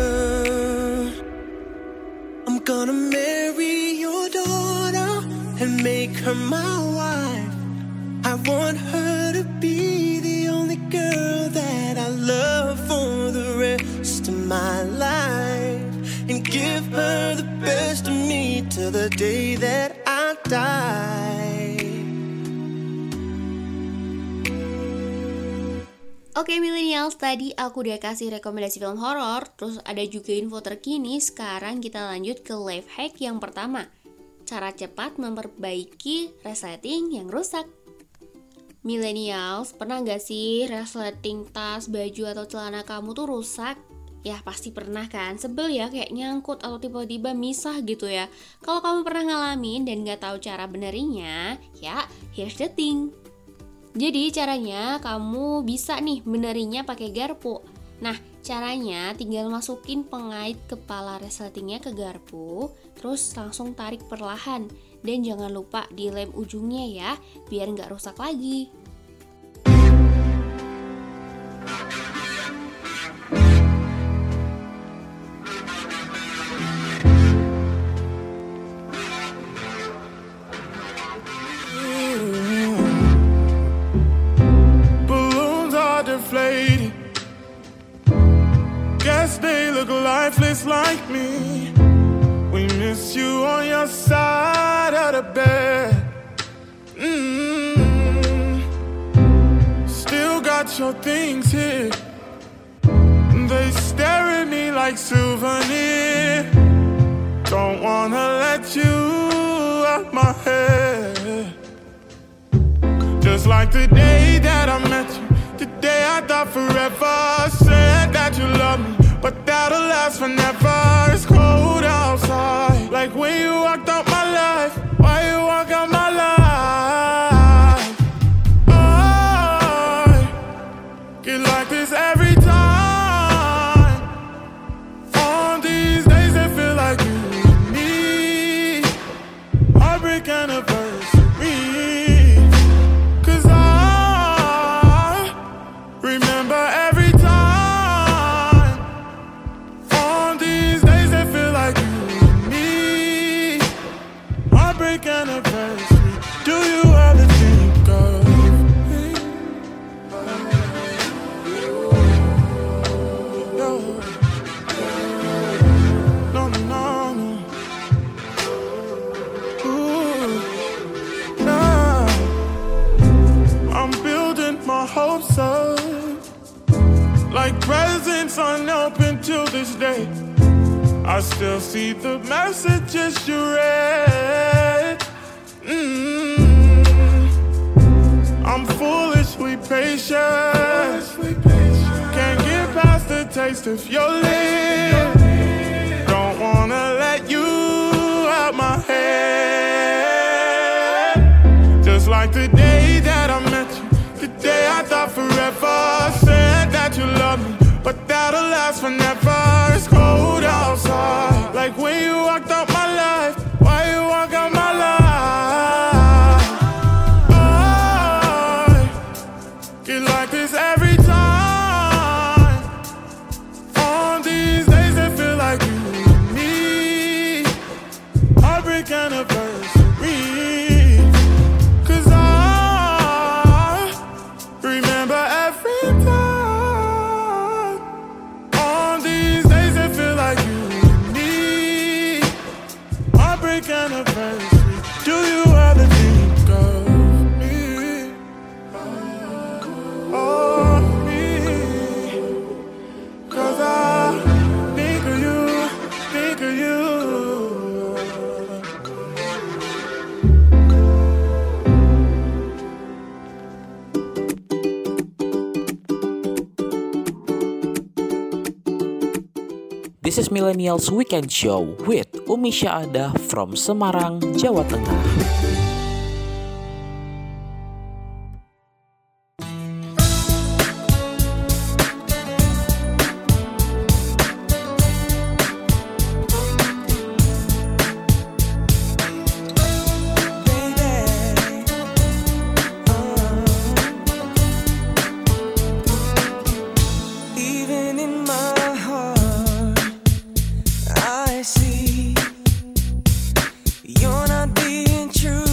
I'm gonna marry your daughter and make her my wife. I want her to be the only girl that I love for the rest of my life, and give her the best of me till the day that I die. Oke millennials, tadi aku udah kasih rekomendasi film horor, terus ada juga info terkini. Sekarang kita lanjut ke life hack yang pertama. Cara cepat memperbaiki resleting yang rusak. Millennials, pernah gak sih resleting tas, baju, atau celana kamu tuh rusak? Ya pasti pernah kan, sebel ya kayak nyangkut atau tiba-tiba misah gitu ya. Kalau kamu pernah ngalamin dan gak tahu cara benerinya, ya here's the thing. Jadi caranya kamu bisa nih benerinya pakai garpu. Nah caranya tinggal masukin pengait kepala resletingnya ke garpu, terus langsung tarik perlahan. Dan jangan lupa dilem ujungnya ya, biar nggak rusak lagi. Balloons are deflating. Guess they look lifeless like me. We miss you on your side of the bed. Mm-hmm. Still got your things here. They stare at me like souvenir. Don't wanna let you out my head. Just like the day that I met you, Today I thought forever. Said that you love me, but that'll last forever. It's cold outside, like when you walked out my life. Why you walk out my life? I get like this every time. On these days it feel like you and me. Heartbreak anniversary. Cause I remember every time. On these days it feel like you and me. Heartbreak anniversary. Do you ever think of me? No, no, no, no. Ooh, nah. I'm building my hopes up, like presents unopened till this day. I still see the messages you read. Mm. I'm foolishly patient. Can't get past the taste of your lips. Don't wanna let you out my head. Just like the day that I met you, the day I thought forever. Said that you love me, but that'll last forever. It's cold outside, like when you walked out my life. Why you walk out my life? I get like this every time. On these days it feel like you and me. Heartbreak anniversary. Cause I remember every time. On these days it feel like you and me. Heartbreak anniversary. Do you ever think of me? Oh, me. Cause I think of you, think of you. This is Millennials Weekend Show with Umi Syahada from Semarang, Jawa Tengah. Even in my heart, I see you're not being true.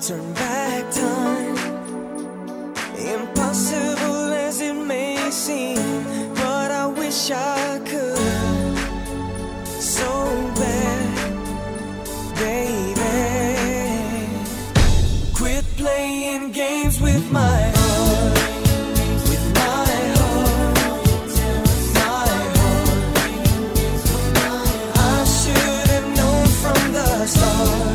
turn back time. Impossible as it may seem, but I wish I could so bad, baby. Quit playing games with my heart, with my heart, my heart. I should have known from the start.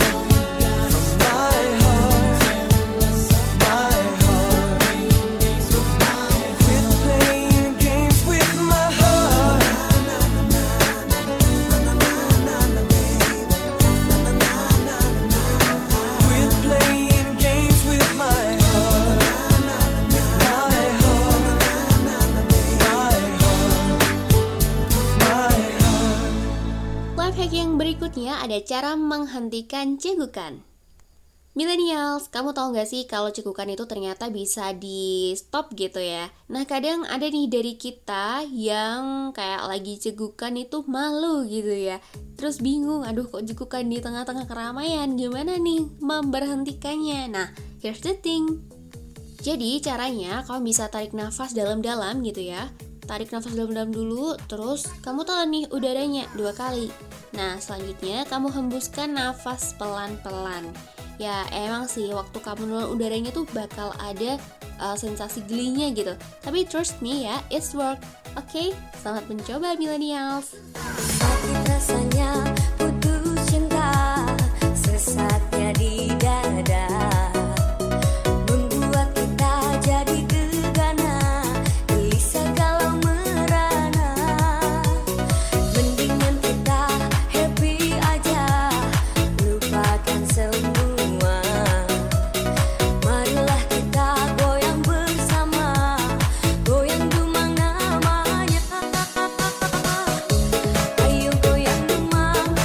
Berikutnya ada cara menghentikan cegukan. Millennials, kamu tahu gak sih kalau cegukan itu ternyata bisa di stop gitu ya. Nah kadang ada nih dari kita yang kayak lagi cegukan itu malu gitu ya. Terus bingung, aduh kok cegukan di tengah-tengah keramaian, gimana nih memberhentikannya. Nah here's the thing. Jadi caranya kamu bisa tarik nafas dalam-dalam gitu ya. Tarik nafas dalam-dalam dulu, terus kamu telan nih udaranya dua kali. Nah selanjutnya kamu hembuskan nafas pelan-pelan. Ya emang sih waktu kamu nelan udaranya tuh bakal ada uh, sensasi gelinya gitu. Tapi trust me ya, it's work. Oke, okay? Selamat mencoba millennials. Sakit rasanya putus cinta, sesatnya di dada. Goyang dumang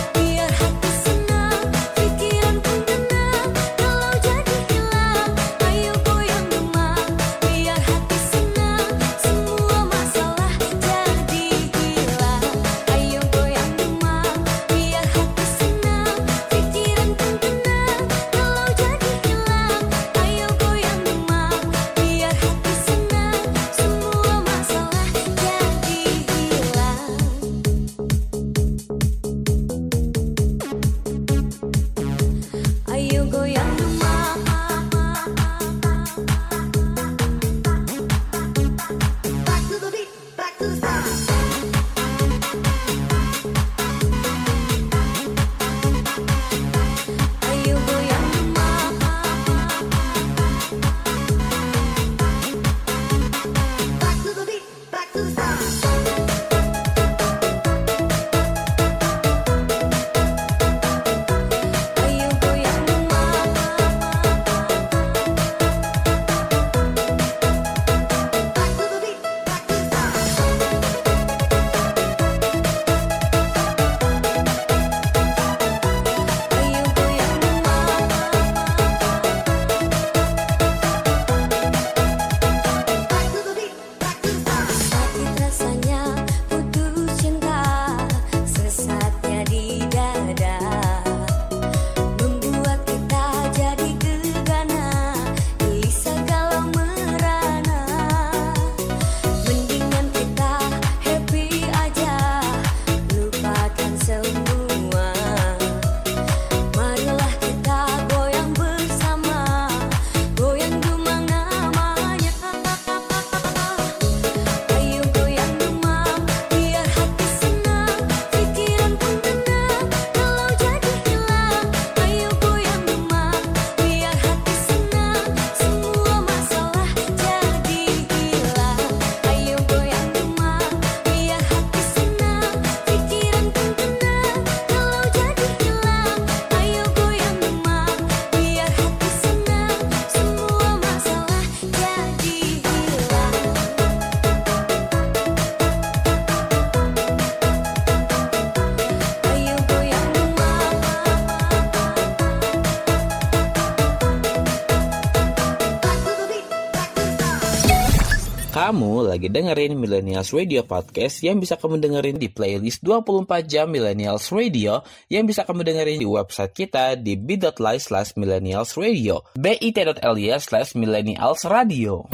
Kamu lagi dengerin Millennials Radio Podcast yang bisa kamu dengerin di playlist dua puluh empat jam Millennials Radio yang bisa kamu dengerin di website kita di bit.ly slash millennials radio bit.ly slash millennials radio.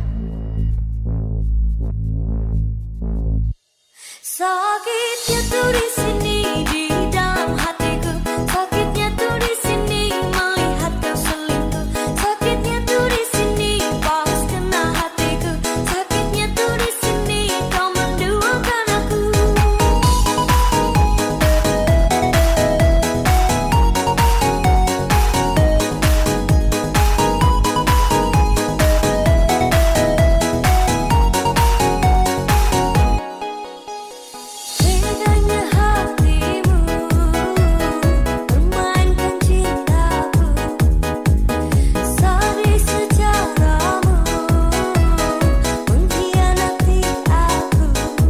Sakitnya tuh di sini di dalam hatiku, sakitnya tuh di sini melihat kau selingkuh, sakitnya tuh di sini pas kena hatiku, sakitnya tuh di sini kau menduakan aku. Bedanya hatimu bermainkan cintaku, sadis secaramu mengkhianati aku.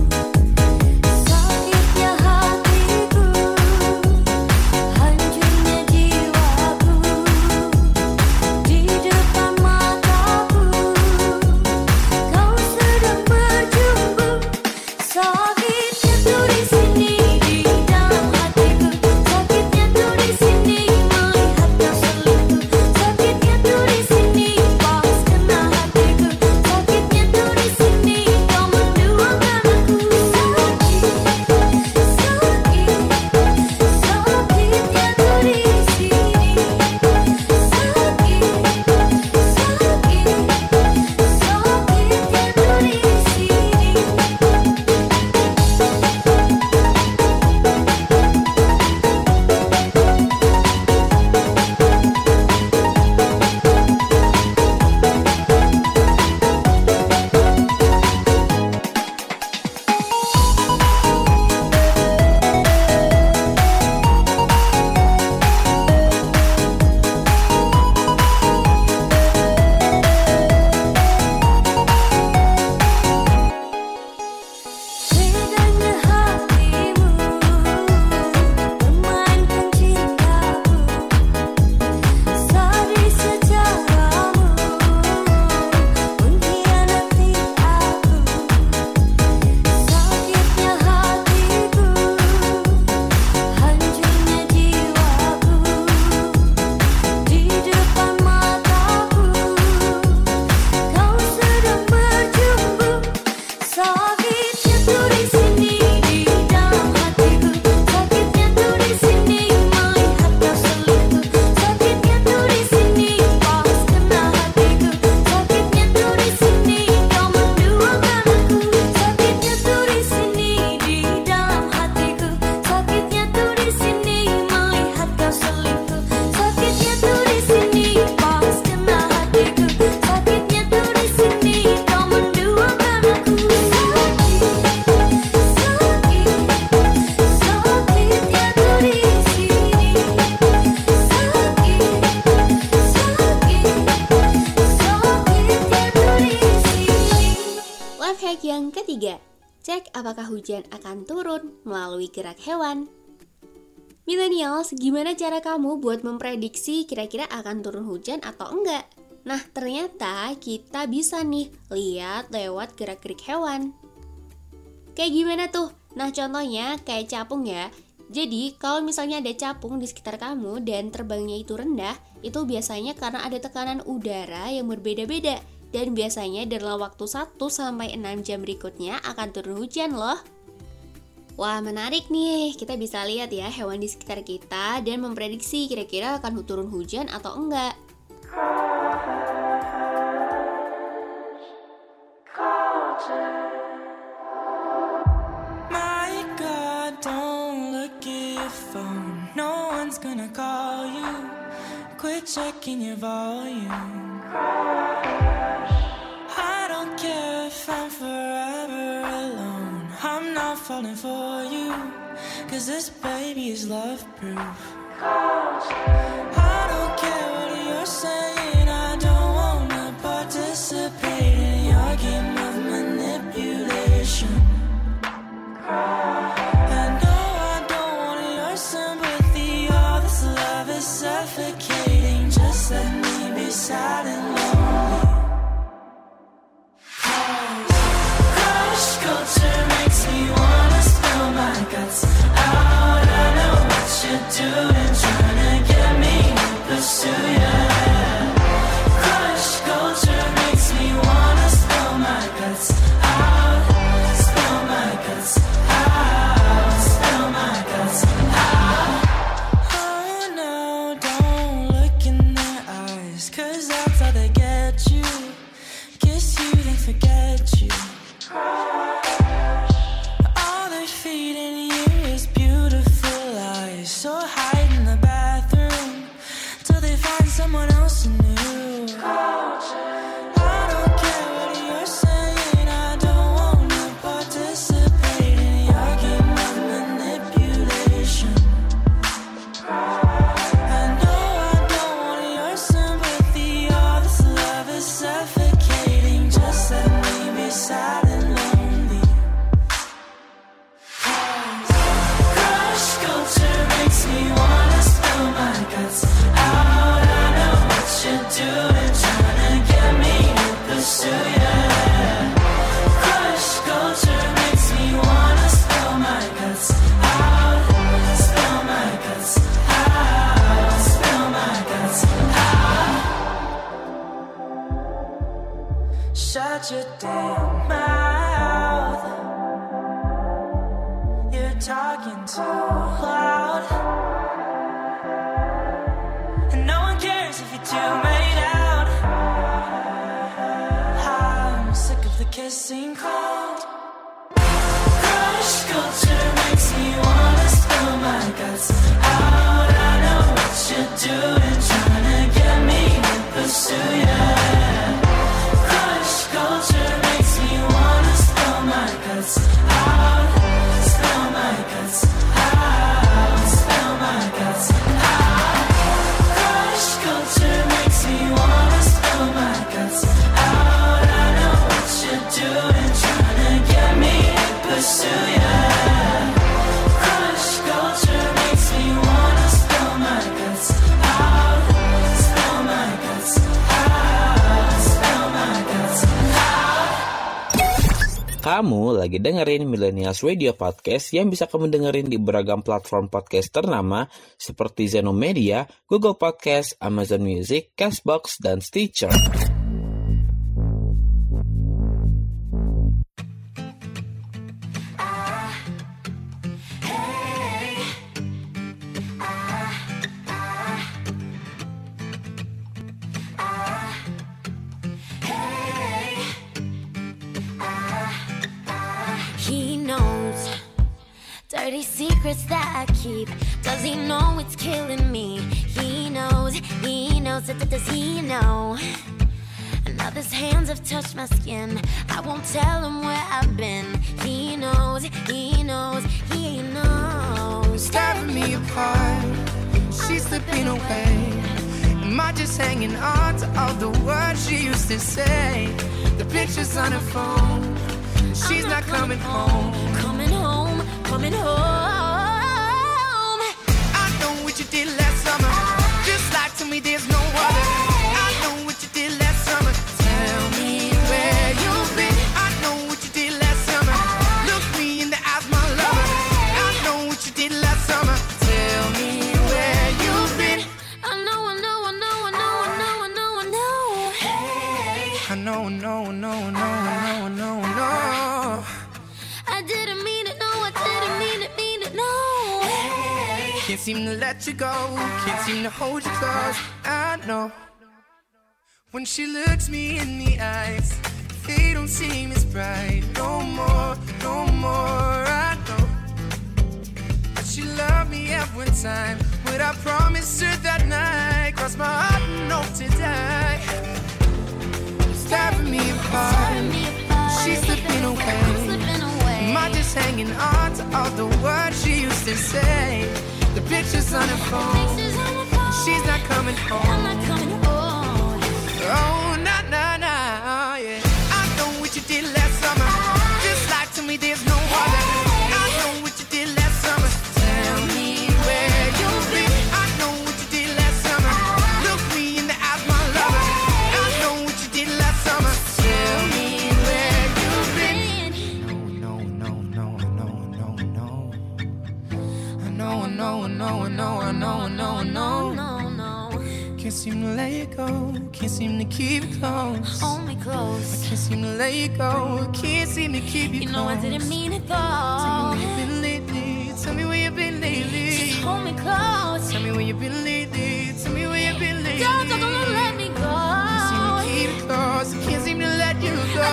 Sakitnya hatiku, hancurnya jiwaku, di depan mataku kau sedang berjumpa. Sakitnya tuh di sini di dalam hatiku, sakitnya tuh di sini melihat kau selingkuh, sakitnya tuh di sini pas kena hatiku, sakitnya tuh di sini kau menduakan aku. Sakit, sakit, sakitnya tuh di sini, sakit, sakit, sakitnya tuh di sini. Bedanya hatimu bermainkan cintaku, sadis secaramu mengkhianati aku. Sakitnya hatiku, hancurnya jiwaku, di depan mataku kau sedang berjumpa. Sakitnya tuh di sini di dalam hatiku, sakitnya tuh di sini melihat kau selingkuh, sakitnya tuh di sini pas kena hatiku, sakitnya tuh di sini kau menduakan aku. Sakitnya tuh di sini di dalam hatiku, sakitnya tuh di sini melihat kau selingkuh, sakitnya tuh di sini pas kena hatiku, sakitnya tuh di sini kau menduakan aku. Life hack yang ketiga, cek apakah hujan akan turun melalui gerak hewan. Millennials, gimana cara kamu buat memprediksi kira-kira akan turun hujan atau enggak? Nah, ternyata kita bisa nih lihat lewat gerak-gerik hewan. Kayak gimana tuh? Nah, contohnya kayak capung ya. Jadi, kalau misalnya ada capung di sekitar kamu dan terbangnya itu rendah, itu biasanya karena ada tekanan udara yang berbeda-beda. Dan biasanya dalam waktu satu sampai enam jam berikutnya akan turun hujan loh. Wah, menarik nih. Kita bisa lihat ya hewan di sekitar kita dan memprediksi kira-kira akan turun hujan atau enggak. My God, don't look at your phone. No one's gonna call you. Quit checking your volume. I don't care if I'm forever alone. I'm not falling for you, 'cause this baby is love proof. I don't care what you're saying. I don't wanna participate in your game of manipulation. I know I don't want your sympathy. All this love is suffocating. Just let me be sad and lonely. 'Cause you, they forget you. All they're feeding you is beautiful lies. So hide in the bathroom till they find someone else new. I don't care what you're saying, I don't wanna participate in your game of manipulation. I know I don't want your sympathy, all this love is suffocating. Just let me be sad and lonely. Crush culture makes me wanna spill my guts out. I know what you're doing, trying to get me to pursue ya. Crush culture makes me wanna spill my guts out. Spill my guts out. Spill my guts out. Shut your damn mouth. You're talking too loud. And no one cares if you're too made out. I'm sick of the kissing cold. Crush culture makes me wanna spill my guts out. I know what you're doing, trying to get me to pursue ya. Crush culture makes me wanna spill my guts out. Spill my guts out. Spill my guts out. Crush culture makes me wanna spill my guts out. I know what you're doing, trying to get me to pursue ya. Crush culture makes me wanna spill my guts out. Spill my guts out. Spill my guts out. Kamu lagi dengerin Millennials Radio Podcast yang bisa kamu dengerin di beragam platform podcast ternama seperti Zenomedia, Google Podcast, Amazon Music, Castbox, dan Stitcher. He knows dirty secrets that I keep. Does he know it's killing me? He knows, he knows, does he know? Now his hands have touched my skin. I won't tell him where I've been. He knows, he knows, he knows. Tearing me apart, she's slipping away. Am I just hanging on to all the words she used to say? The pictures on her phone, she's not, not coming home. Coming home, coming home. I know what you did last summer. Just like to me there's no other. I know what you did last summer. Tell me where you've been. I know what you did last summer. Look me in the eyes, my lover. I know what you did last summer. Tell me where you've been. I know, I know, I know, I know, I know, I know, I know. Hey. I know, I know, I know, I know, I know, I know, I know. I didn't mean it, no, I didn't mean it, mean it, no. Hey. Can't seem to let you go, can't seem to hold you close. I know. When she looks me in the eyes, they don't seem as bright. No more, no more, I know. But she loved me every time. What I promised her that night, crossed my heart and hope to die. It's tearing me apart, she's slipping away. Am I just hanging on to all the words she used to say? The pictures on her phone, she's not coming home. I'm not coming home. Oh, nah, nah, nah, yeah. I know what you did last summer. Just like to me there's no other. I know what you did last summer. Tell me where you've been. I know what you did last summer. Look me in the eyes, my lover. I know what you did last summer. Tell me where you've been. No, no, no, no, no, no, no. I know, I know, I know, I know, I know, I know, I know. No, no. Can't seem to let it go. Can't seem to keep it close. Hold me close. I can't seem to let you go. Can't seem to keep you, You close. know I didn't mean it Tell though. me where you've been lately. Tell me where you've been lately. Just hold me close. Tell me where you've been lately. Tell me where you've been lately. Don't, don't, don't let me go. Can't seem to keep it close. I can't seem to let you go.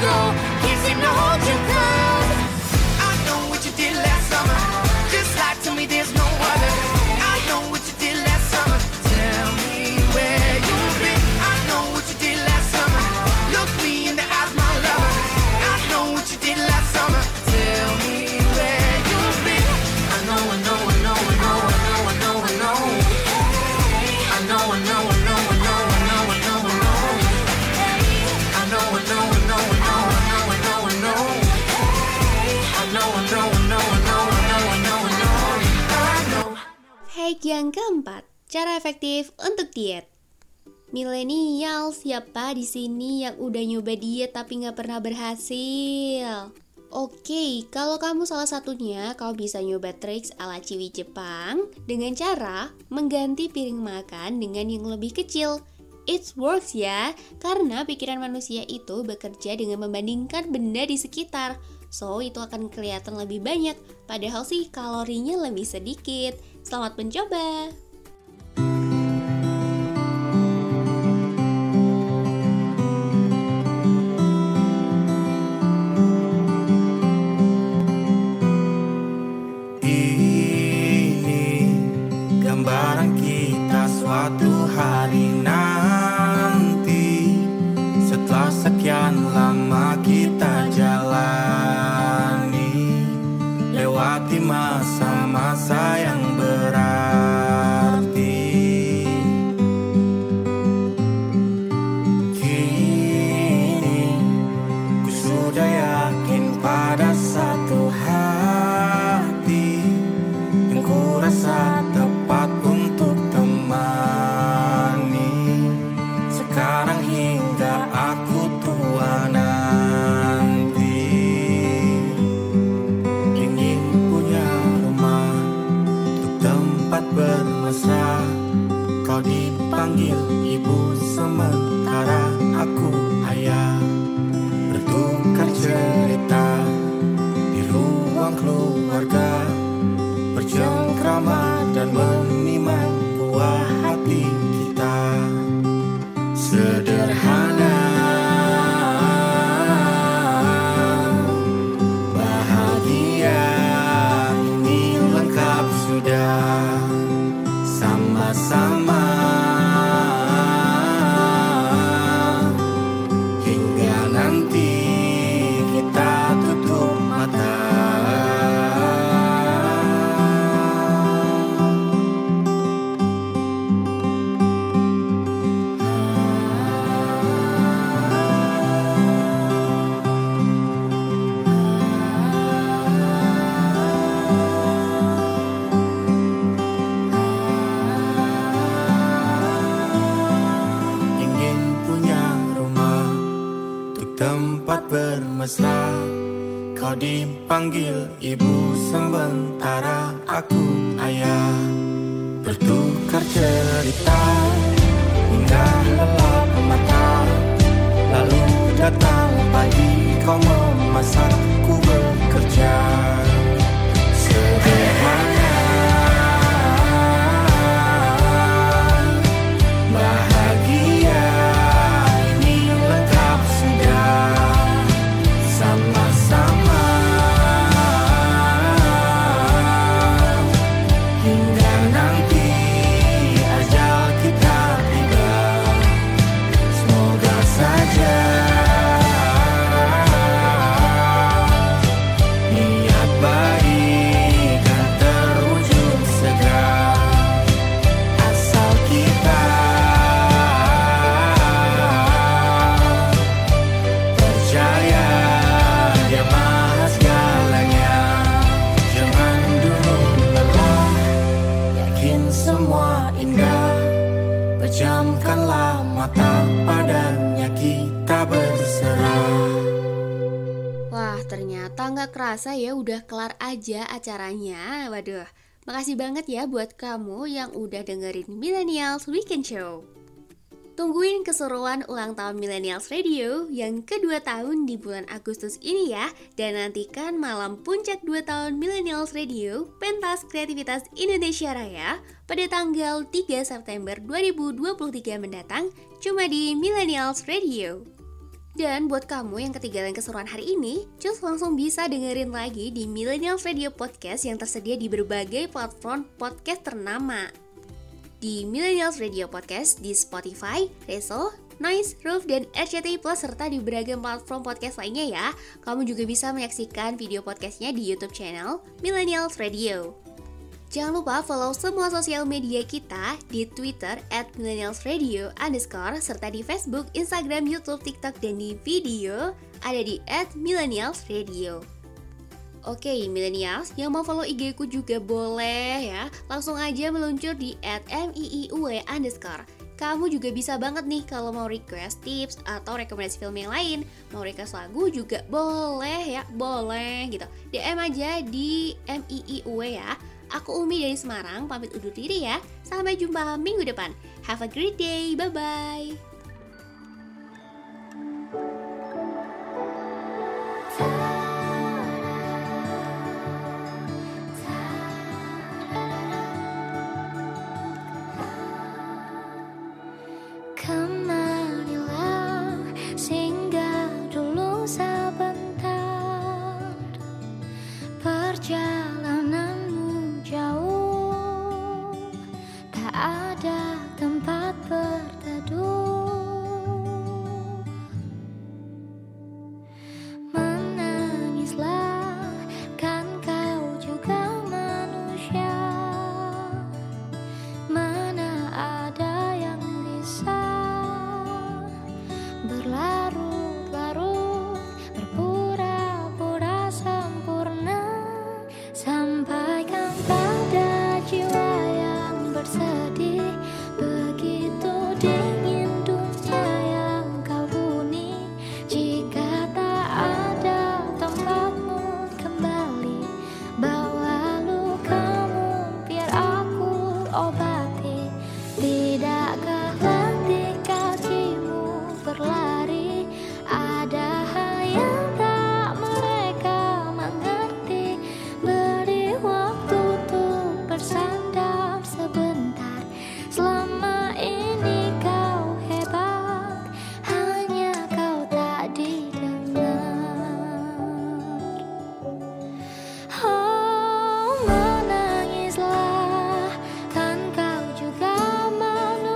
go. Can't seem to hold you close. I know what you did last summer. Just like to me there's no other. I know what you did last summer. Tell me where you've been. I know what you did last summer. Look me in the eyes, my lover. I know what you did last summer. Tell me where you've been. I know, I know, I know, I know, I know, I know, I know. I know, I know, I know, I know, I know, I know, I know. I know, I know, I know, I know, I know, I know, I know. I know, I know, I know, I know, I know, I know, I know. I know. Hack yang keempat, cara efektif untuk diet. Millennial, siapa di sini yang udah nyoba diet tapi nggak pernah berhasil? Oke, kalau kamu salah satunya, kau bisa nyoba triks ala ciwi Jepang dengan cara mengganti piring makan dengan yang lebih kecil. It works ya, karena pikiran manusia itu bekerja dengan membandingkan benda di sekitar. So, itu akan kelihatan lebih banyak, padahal sih kalorinya lebih sedikit. Selamat mencoba! Gambaran kita suatu hari nanti, setelah sekian lama kita jalani, lewati masa-masa yang berarti. Kini ku sudah yakin pada satu hati yang ku rasa tepat untuk temani. Sekarang hingga aku tua nanti, ingin punya rumah untuk tempat bermesra. Kau dipanggil ibu sementara aku ayah, bertukar cerita di ruang keluarga, bercengkrama dan menimang buah hati kita. Sederhana, bahagia, ini lengkap sudah. Sama-sama hingga nanti kita tutup mata. Tempat bermesra, kau dipanggil ibu sementara aku ayah, bertukar cerita hingga lelap mata. Lalu datang pagi, kau memasak, ku bekerja. Sederhana, bahagia, ini lengkap sudah. Sama-sama hingga nanti ajal kita tiba. Semoga saja niat baik kan terwujud segera, asal kita percaya Dia Maha segalanya. Jangan dulu lelah, yakin semua indah. Pejamkanlah mata, padanya kita berserah. Wah, ternyata nggak kerasa ya udah kelar aja acaranya. Waduh, makasih banget ya buat kamu yang udah dengerin Millennials Weekend Show. Tungguin keseruan ulang tahun Millennials Radio yang kedua tahun di bulan Agustus ini ya. Dan nantikan malam puncak dua tahun Millennials Radio, Pentas Kreativitas Indonesia Raya pada tanggal tiga September dua ribu dua puluh tiga mendatang, cuma di Millennials Radio. Dan buat kamu yang ketinggalan keseruan hari ini, cus langsung bisa dengerin lagi di Millennials Radio Podcast yang tersedia di berbagai platform podcast ternama. Di Millennials Radio Podcast di Spotify, Reso, Noise, Roof, dan R C T I Plus serta di beragam platform podcast lainnya ya. Kamu juga bisa menyaksikan video podcastnya di YouTube channel Millennials Radio. Jangan lupa follow semua sosial media kita di Twitter at millennialsradio underscore serta di Facebook, Instagram, YouTube, TikTok, dan di video ada di at millennialsradio. Oke, millennials yang mau follow I G ku juga boleh ya. Langsung aja meluncur di at miiuw underscore. Kamu juga bisa banget nih kalau mau request tips atau rekomendasi film yang lain. Mau request lagu juga boleh ya, boleh gitu. D M aja di miiuw ya. Aku Umi dari Semarang, pamit undur diri ya. Sampai jumpa minggu depan. Have a great day, bye-bye. Kemarilah singgah dulu sebentar. Perjalananmu jauh, tak ada tempat berteduh. Menangislah, kan kau juga manusia. Mana ada yang bisa berlarut-larut, berpura-pura sempurna. Sampaikan pada jiwa yang bersedih, begitu dingin dunia yang kau huni. Jika tak ada tempatmu kembali, bawa lukamu biar aku obati. Tidakkah letih kakimu berlari, ada hal yang tak mereka mengerti. Beri waktu untuk bersandar sebentar. Selama ini kau hebat, hanya kau tak didengar. Oh, menangislah, kan kau juga manusia.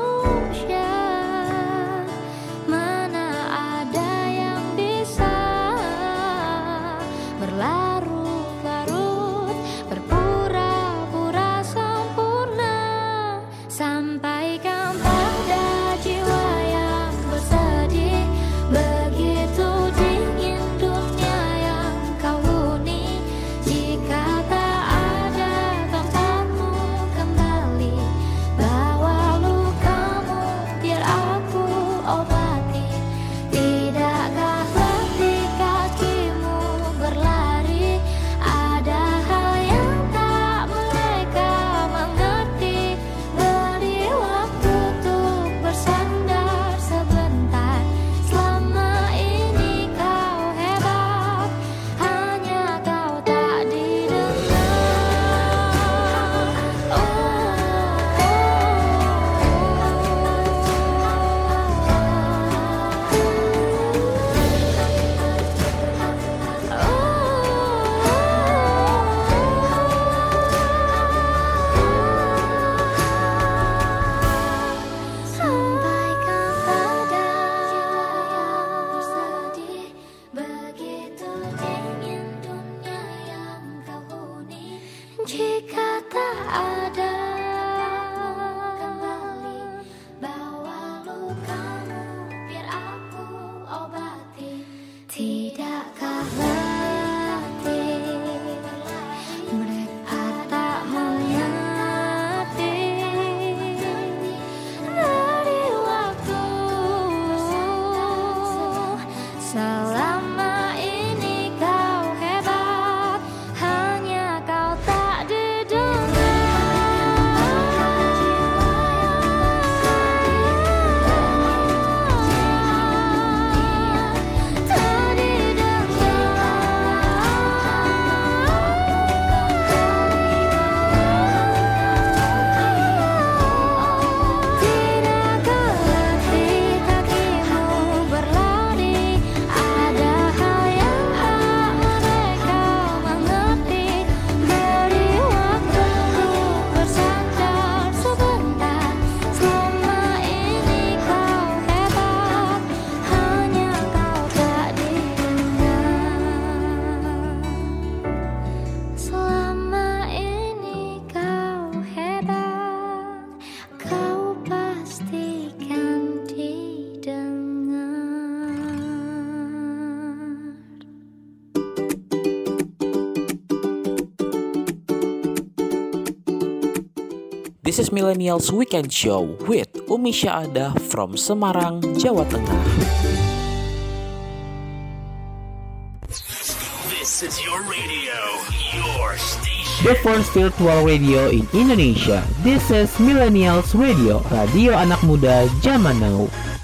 This is Millennials Weekend Show with Umi Syahada from Semarang, Jawa Tengah. This is your radio, your station. The first virtual radio in Indonesia. This is Millennials Radio, radio anak muda zaman now.